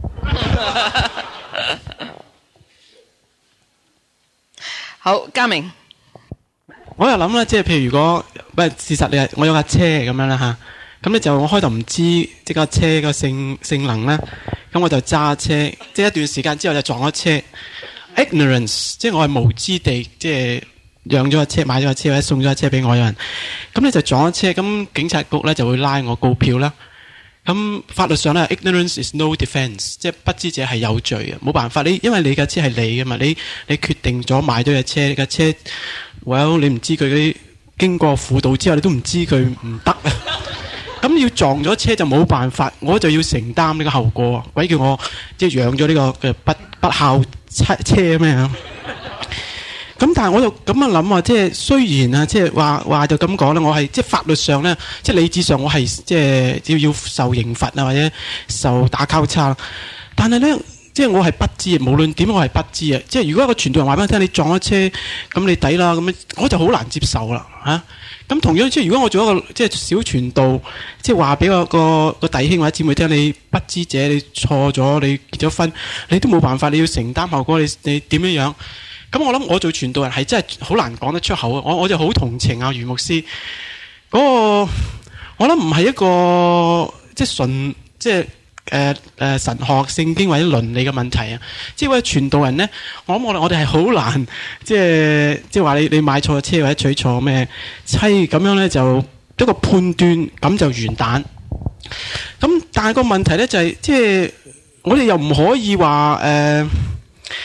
好，嘉明， 我又諗啦，即係譬如如果唔係事實，你係我有架車咁樣啦嚇，咁咧就我開頭唔知即架車個性性能咧。咁我就揸車，即係一段時間之後就撞咗車。ignorance， 即係我係無知地，即係養咗架車、買咗架車或者送咗架車俾我有人。咁咧就撞咗車，咁警察局咧就會拉我告票啦。咁法律上咧 ，ignorance is no defence， 即係不知者係有罪嘅，冇辦法。你因為你架車係你嘅嘛，你你決定咗買咗架車，你架車，well 你唔知佢啲經過輔導之後，你都唔知佢唔得啊。咁要撞咗車就冇辦法，我就要承擔呢個後果。鬼叫我即係養咗呢個嘅不不孝車車咩啊？咁但係我就咁樣諗啊，即係雖然啊，即係話話就咁講啦，我係即係法律上咧，即係理智上我係即係要要受刑罰啊，或者受打交叉。但係咧，即係我係不知，無論點我係不知啊。即係如果一個傳道人話俾我聽，你撞咗車，咁你抵啦，咁樣我就好難接受啦嚇。咁同樣即係如果我做一個即係小傳道，即係話俾個個個弟兄或者姊妹聽，你不知者，你錯咗，你結咗婚，你都冇辦法，你要承擔後果，你你點樣樣？咁我諗我做傳道人係真係好難講得出口啊！我我就好同情啊余牧師嗰個，我諗唔係一個即係純即係。誒誒神學聖經或者倫理嘅問題啊，即係位傳道人咧，我諗我我哋係好難，即係即係話你你買錯車或者娶錯咩妻咁樣咧，就一個判斷咁就完蛋。咁但係個問題咧就係、是，即係我哋又唔可以話誒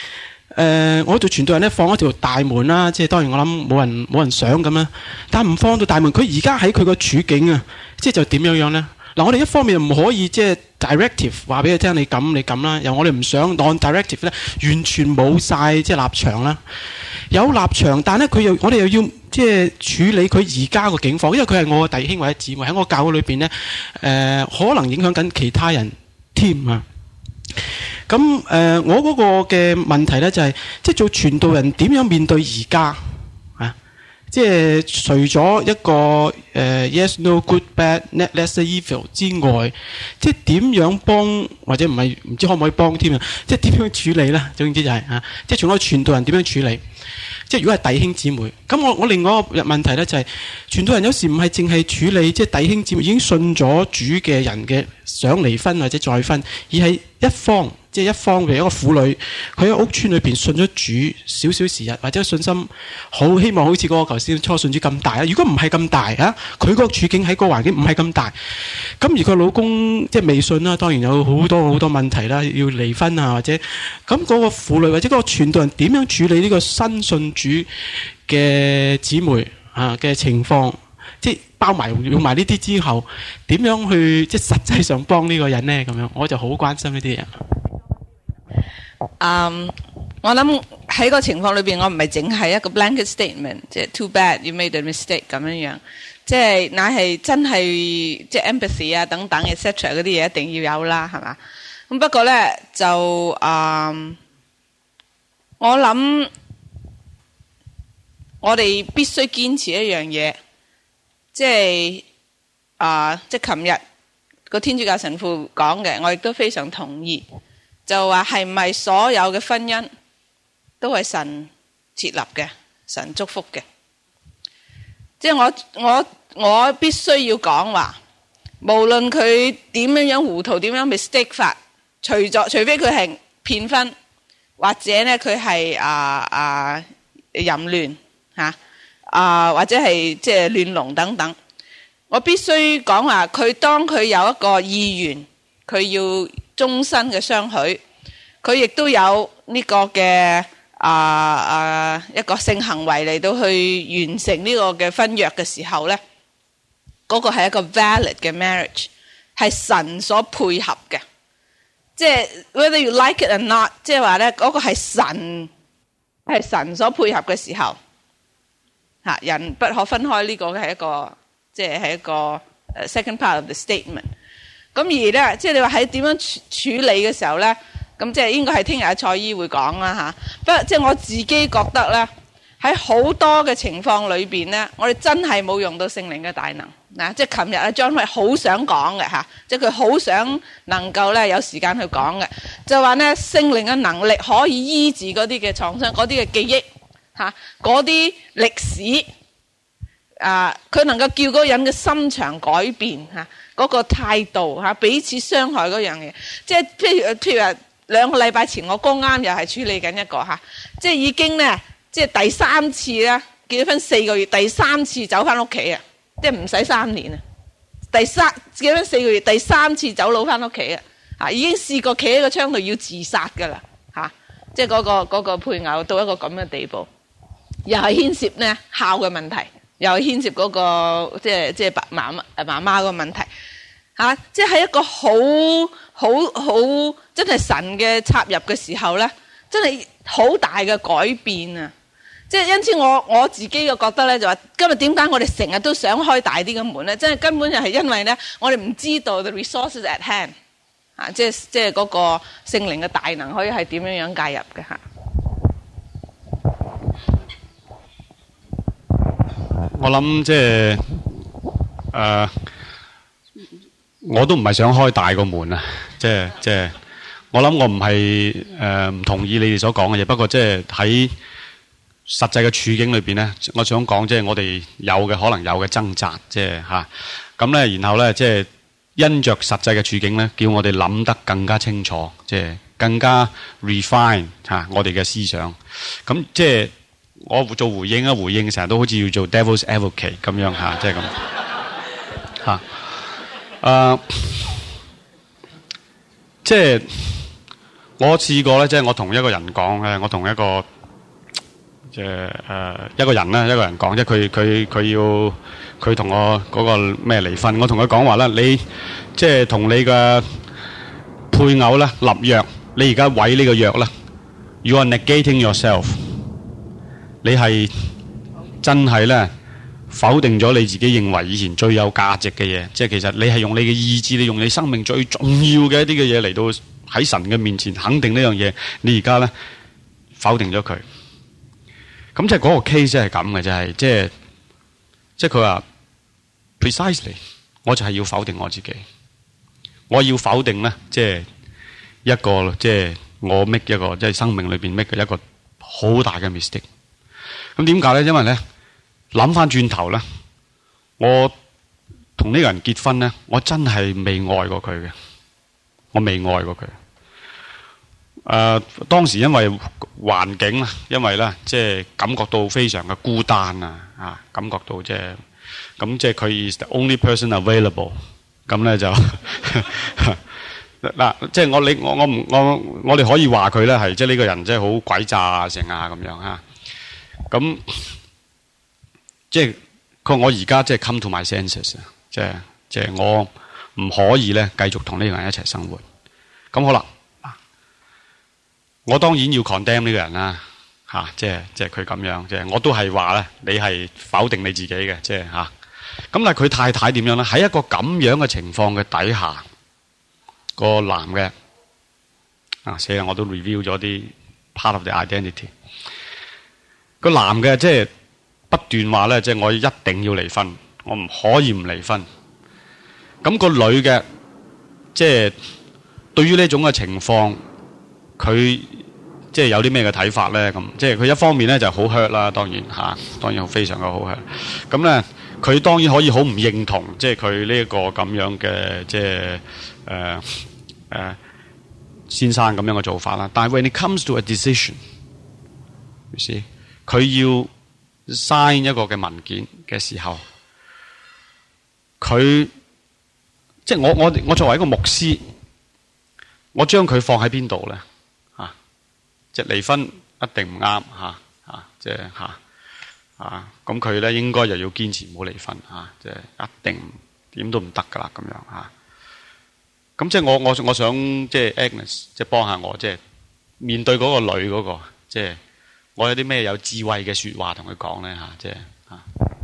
呃，我做傳道人咧放一條大門啦，即係當然我諗冇人冇人想咁啦，但唔放到大門，佢而家喺佢個處境啊，即係就點樣樣咧？嗱，我哋一方面唔可以即係 directive 話俾佢聽，你咁你咁啦，又我哋唔想 non-directive 咧，完全冇晒即係立場啦。有立場，但係咧佢又我哋又要即係處理佢而家個境況，因為佢係我嘅弟兄或者姊妹喺我教會裏邊咧，誒、呃、可能影響緊其他人添啊。咁誒、呃，我嗰個嘅問題咧就係、是，即係做傳道人點樣面對而家啊？即係除咗一個誒、呃、yes no good bad net lesser evil 之外，即係點樣幫或者唔係唔知可唔可以幫添啊？即係點樣處理咧？總之就係、是、啊，即係從個傳道人點樣處理？即係如果係弟兄姊妹，咁我我另外一個問題咧就係、是，傳道人有時唔係淨係處理即係弟兄姊妹已經信咗主嘅人嘅想離婚或者再婚，而係一方。即係一方嘅一個婦女，佢喺屋村裏邊信咗主少少時日，或者信心好希望好似嗰個頭先初信主咁大啊！如果唔係咁大啊，佢嗰個處境喺個環境唔係咁大，咁而佢老公即係未信啦，當然有好多好多問題啦，要離婚啊或者咁嗰個婦女或者嗰個傳道人點樣處理呢個新信主嘅姊妹啊嘅情況？即係包埋用埋呢啲之後，點樣去即係實際上幫呢個人呢？咁樣我就好關心呢啲嘢。 嗯、um, 我諗喺個情況裏邊，我唔係淨係一個 blanket statement， 即係 too bad you made a mistake 咁樣樣，即係乃係真係即係 empathy 啊等等 et cetera 嗰啲嘢一定要有啦，係嘛？咁不過咧就嗯、um, 我諗我哋必須堅持一樣嘢，即係啊、呃、即係琴日個天主教神父講嘅，我亦都非常同意。就話係唔係所有嘅婚姻都係神設立嘅，神祝福嘅？即係我我我必須要講話，無論佢點樣樣糊塗，點樣 mistake 法，除咗除非佢係騙婚，或者咧佢係啊啊淫亂吓啊，或者係即係亂倫等等，我必須講話，佢當佢有一個意願，佢要終身嘅相許，佢亦都有呢個嘅啊啊一個性行為嚟到去完成呢個嘅婚約嘅時候咧，嗰個係一個 valid 嘅 marriage， 係神所配合嘅，即係 whether you like it or not， 即係話咧嗰個係神係神所配合嘅時候，吓人不可分開，呢個係一個即係係一個 second part of the statement。咁而咧，即係你話喺點樣處處理嘅時候咧，咁即係應該係聽日阿蔡姨會講啦吓。不過即係我自己覺得咧，喺好多嘅情況裏邊咧，我哋真係冇用到聖靈嘅大能嗱。即係琴日阿 John 係好想講嘅吓，即係佢好想能夠咧有時間去講嘅，就話咧聖靈嘅能力可以醫治嗰啲嘅創傷、嗰啲嘅記憶吓、嗰啲歷史啊，佢能夠叫嗰個人嘅心腸改變吓。嗰個態度嚇，彼此傷害嗰樣嘢，即係譬如譬如話兩個禮拜前我剛啱又係處理緊一個嚇，即係已經咧，即係第三次咧結咗婚四個月，第三次走翻屋企啊，即係唔使三年啊，第三結咗婚四個月，第三次走佬翻屋企啊，嚇已經試過企喺個窗度要自殺㗎啦嚇，即係嗰個嗰個配偶到一個咁嘅地步，又係牽涉咧孝嘅問題。又牽涉嗰、那個即係即係媽媽誒媽媽個問題嚇、啊，即係一個好好好真係神嘅插入嘅時候咧，真係好大嘅改變啊！即係因此我我自己嘅覺得咧，就話今日點解我哋成日都想開大啲嘅門咧？真係根本就係因為咧，我哋唔知道 the resources at hand 啊，即係即係嗰個聖靈嘅大能可以係點樣樣介入嘅嚇。 我諗即係誒，我都唔係想開大個門啊！即係即係，我諗我唔係誒唔同意你哋所講嘅嘢。不過即係喺實際嘅處境裏邊咧，我想講即係我哋有嘅可能有嘅掙扎，即係吓咁咧。然後咧，即係因着實際嘅處境咧，叫我哋諗得更加清楚，即係更加 refine 吓我哋嘅思想。咁即係。我做回應啊，回應成日都好似要做 devil's advocate 咁樣吓，即係咁吓。誒，即係我試過咧，即係我同一個人講嘅，我同一個即係誒一個人咧，一個人講，即係佢佢佢要佢同我嗰個咩離婚，我同佢講話啦，你即係同你嘅配偶咧立約，你而家毀呢個約啦 ，you are negating yourself， 你係真係咧否定咗你自己認為以前最有價值嘅嘢，即係其實你係用你嘅意志，你用你生命最重要嘅一啲嘅嘢嚟到喺神嘅面前肯定呢樣嘢，你而家咧否定咗佢。咁即係嗰個 case 係咁嘅，就係即係即係佢話 precisely， 我就係要否定我自己，我要否定咧，即係一個即係我 make 一個即係生命裏邊 make 嘅一個好大嘅 mistake。咁點解咧？因為咧諗翻轉頭咧，我同呢個人結婚咧，我真係未愛過佢嘅，我未愛過佢。誒、呃、當時因為環境啊，因為咧即係感覺到非常嘅孤單啊，啊感覺到即係咁即係佢 is the only person available， 咁咧就嗱即係我你我我唔我我哋可以話佢咧係即係呢個人即係好詭詐啊成啊咁樣嚇，咁即係佢話我而家即係 come to my senses， 即係即係我唔可以咧繼續同呢個人一齊生活，咁好啦。我當然要 condemn 呢個人啦，嚇、啊，即係即係佢咁樣，即係我都係話咧，你係否定你自己嘅，即係嚇。咁、啊、但係佢太太點樣咧？喺一個咁樣嘅情況嘅底下，個男嘅啊，死啦！我都 review 咗啲 part of the identity。個男嘅即係不斷話咧，即係我一定要離婚，我唔可以唔離婚。咁、個女嘅即係對於呢種嘅情況，佢即係有啲咩嘅睇法咧？咁即係佢一方面咧就好 hurt 啦，當然嚇、啊，當然非常嘅好 hurt。咁咧，佢當然可以好唔認同，即係佢呢一個咁樣嘅即係誒誒先生咁樣嘅做法啦。但係 when it comes to a decision，you see，佢要 sign 一個嘅文件嘅時候，佢即係我我我作為一個牧師，我將佢放喺邊度咧？即係離婚一定唔啱嚇嚇，即係嚇嚇咁佢咧應該又要堅持唔好離婚嚇，即係一定點都唔得噶啦咁樣嚇。咁即係我我我想即係 Agnes 即係幫下我，即係面對嗰個女嗰個，即係我有啲咩有智慧嘅説話同佢講咧嚇，即係嚇。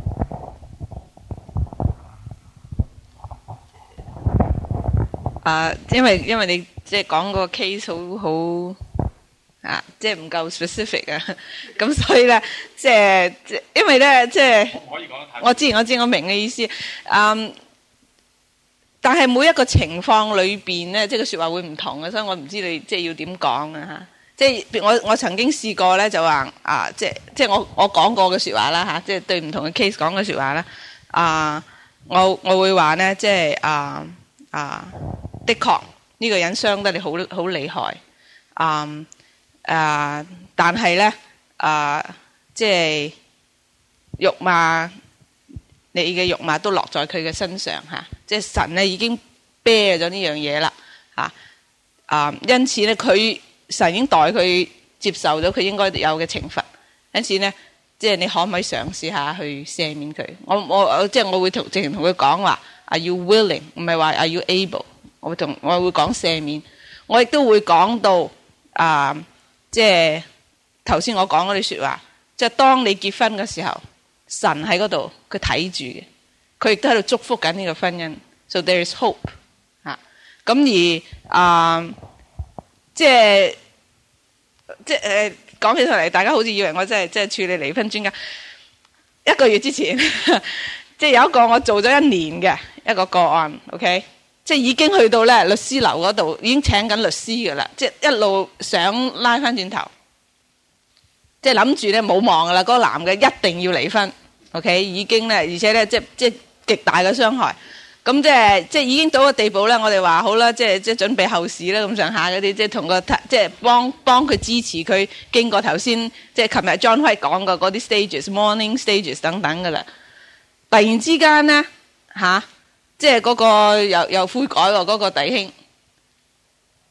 啊，因為因為你即係講個 case 好好。啊，即係唔夠 specific 啊，咁所以咧，即係即因為咧，即係我知我知我明嘅意思，嗯，但係每一個情況裏邊咧，即係個説話會唔同嘅，所以我唔知你即係要點講啊嚇。即係我我曾經試過咧，就話啊，即係即係我我講過嘅説話啦嚇，即係對唔同嘅 case 講嘅説話啦，啊，我我會話咧，即係啊啊，的確呢個人傷得你好好厲害，啊。誒、呃，但係咧，誒、呃，即係辱罵你嘅辱罵都落在佢嘅身上嚇、啊，即係神咧已經 bear 咗呢樣嘢啦嚇，啊，因此咧佢神已經代佢接受咗佢應該有嘅懲罰，因此咧，即係你可唔可以嘗試下去赦免佢？我我即係我會同直情同佢講話 ，Are you willing？ 唔係話 Are you able？ 我會同我會講赦免，我亦都會講到啊。呃即係頭先我講嗰啲説話，即係當你結婚嘅時候，神喺嗰度，佢睇住嘅，佢亦都喺度祝福緊呢個婚姻。So there is hope 嚇。咁而啊、呃，即係即係誒講起上嚟，大家好似以為我真係即係處理離婚專家。一個月之前，即係有一個我做咗一年嘅一個個案 ，OK。即係已經去到咧律師樓嗰度，已經請緊律師㗎啦。即係一路想拉翻轉頭，即係諗住咧冇望㗎啦。嗰個男嘅一定要離婚 ，OK？已經咧，而且咧即係即係極大嘅傷害。咁即係即係已經到個地步咧，我哋話好啦，即係即係準備後事啦，咁上下嗰啲，即係同個即係幫幫佢支持佢經過頭先即係琴日 John White 講過嗰啲 stages、morning stages 等等㗎啦。突然之間咧嚇〜即係嗰個又又悔改喎，嗰個弟兄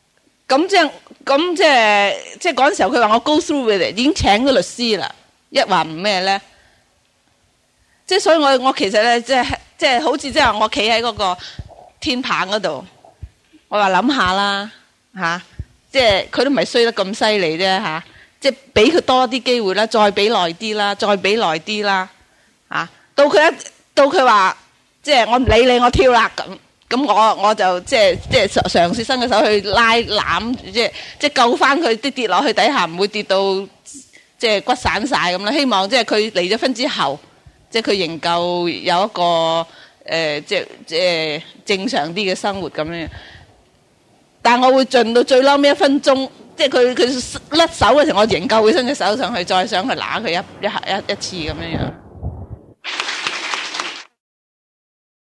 咁即係咁即係即係嗰陣時候，佢話我 go through with it，已經請咗律師啦。一話唔咩咧，即係所以我我其實咧即係即係好似即係我企喺嗰個天棚嗰度，我話諗下啦嚇，即係佢都唔係衰得咁犀利啫嚇，即係俾佢多啲機會啦，再俾耐啲啦，再俾耐啲啦嚇，到佢一到佢話即係我唔理你，我跳啦咁。咁我我就即係即係嘗試伸個手去拉攬，即係即係救翻佢啲跌落去底下，唔會跌到即係骨散晒咁啦。希望即係佢離咗婚之後，即係佢仍舊有一個誒、呃、即係即係正常啲嘅生活咁樣。但係我會盡到最嬲尾一分鐘，即係佢佢甩手嘅時候，我仍舊會伸隻手上去，再想去揦佢一一下一一次咁樣樣。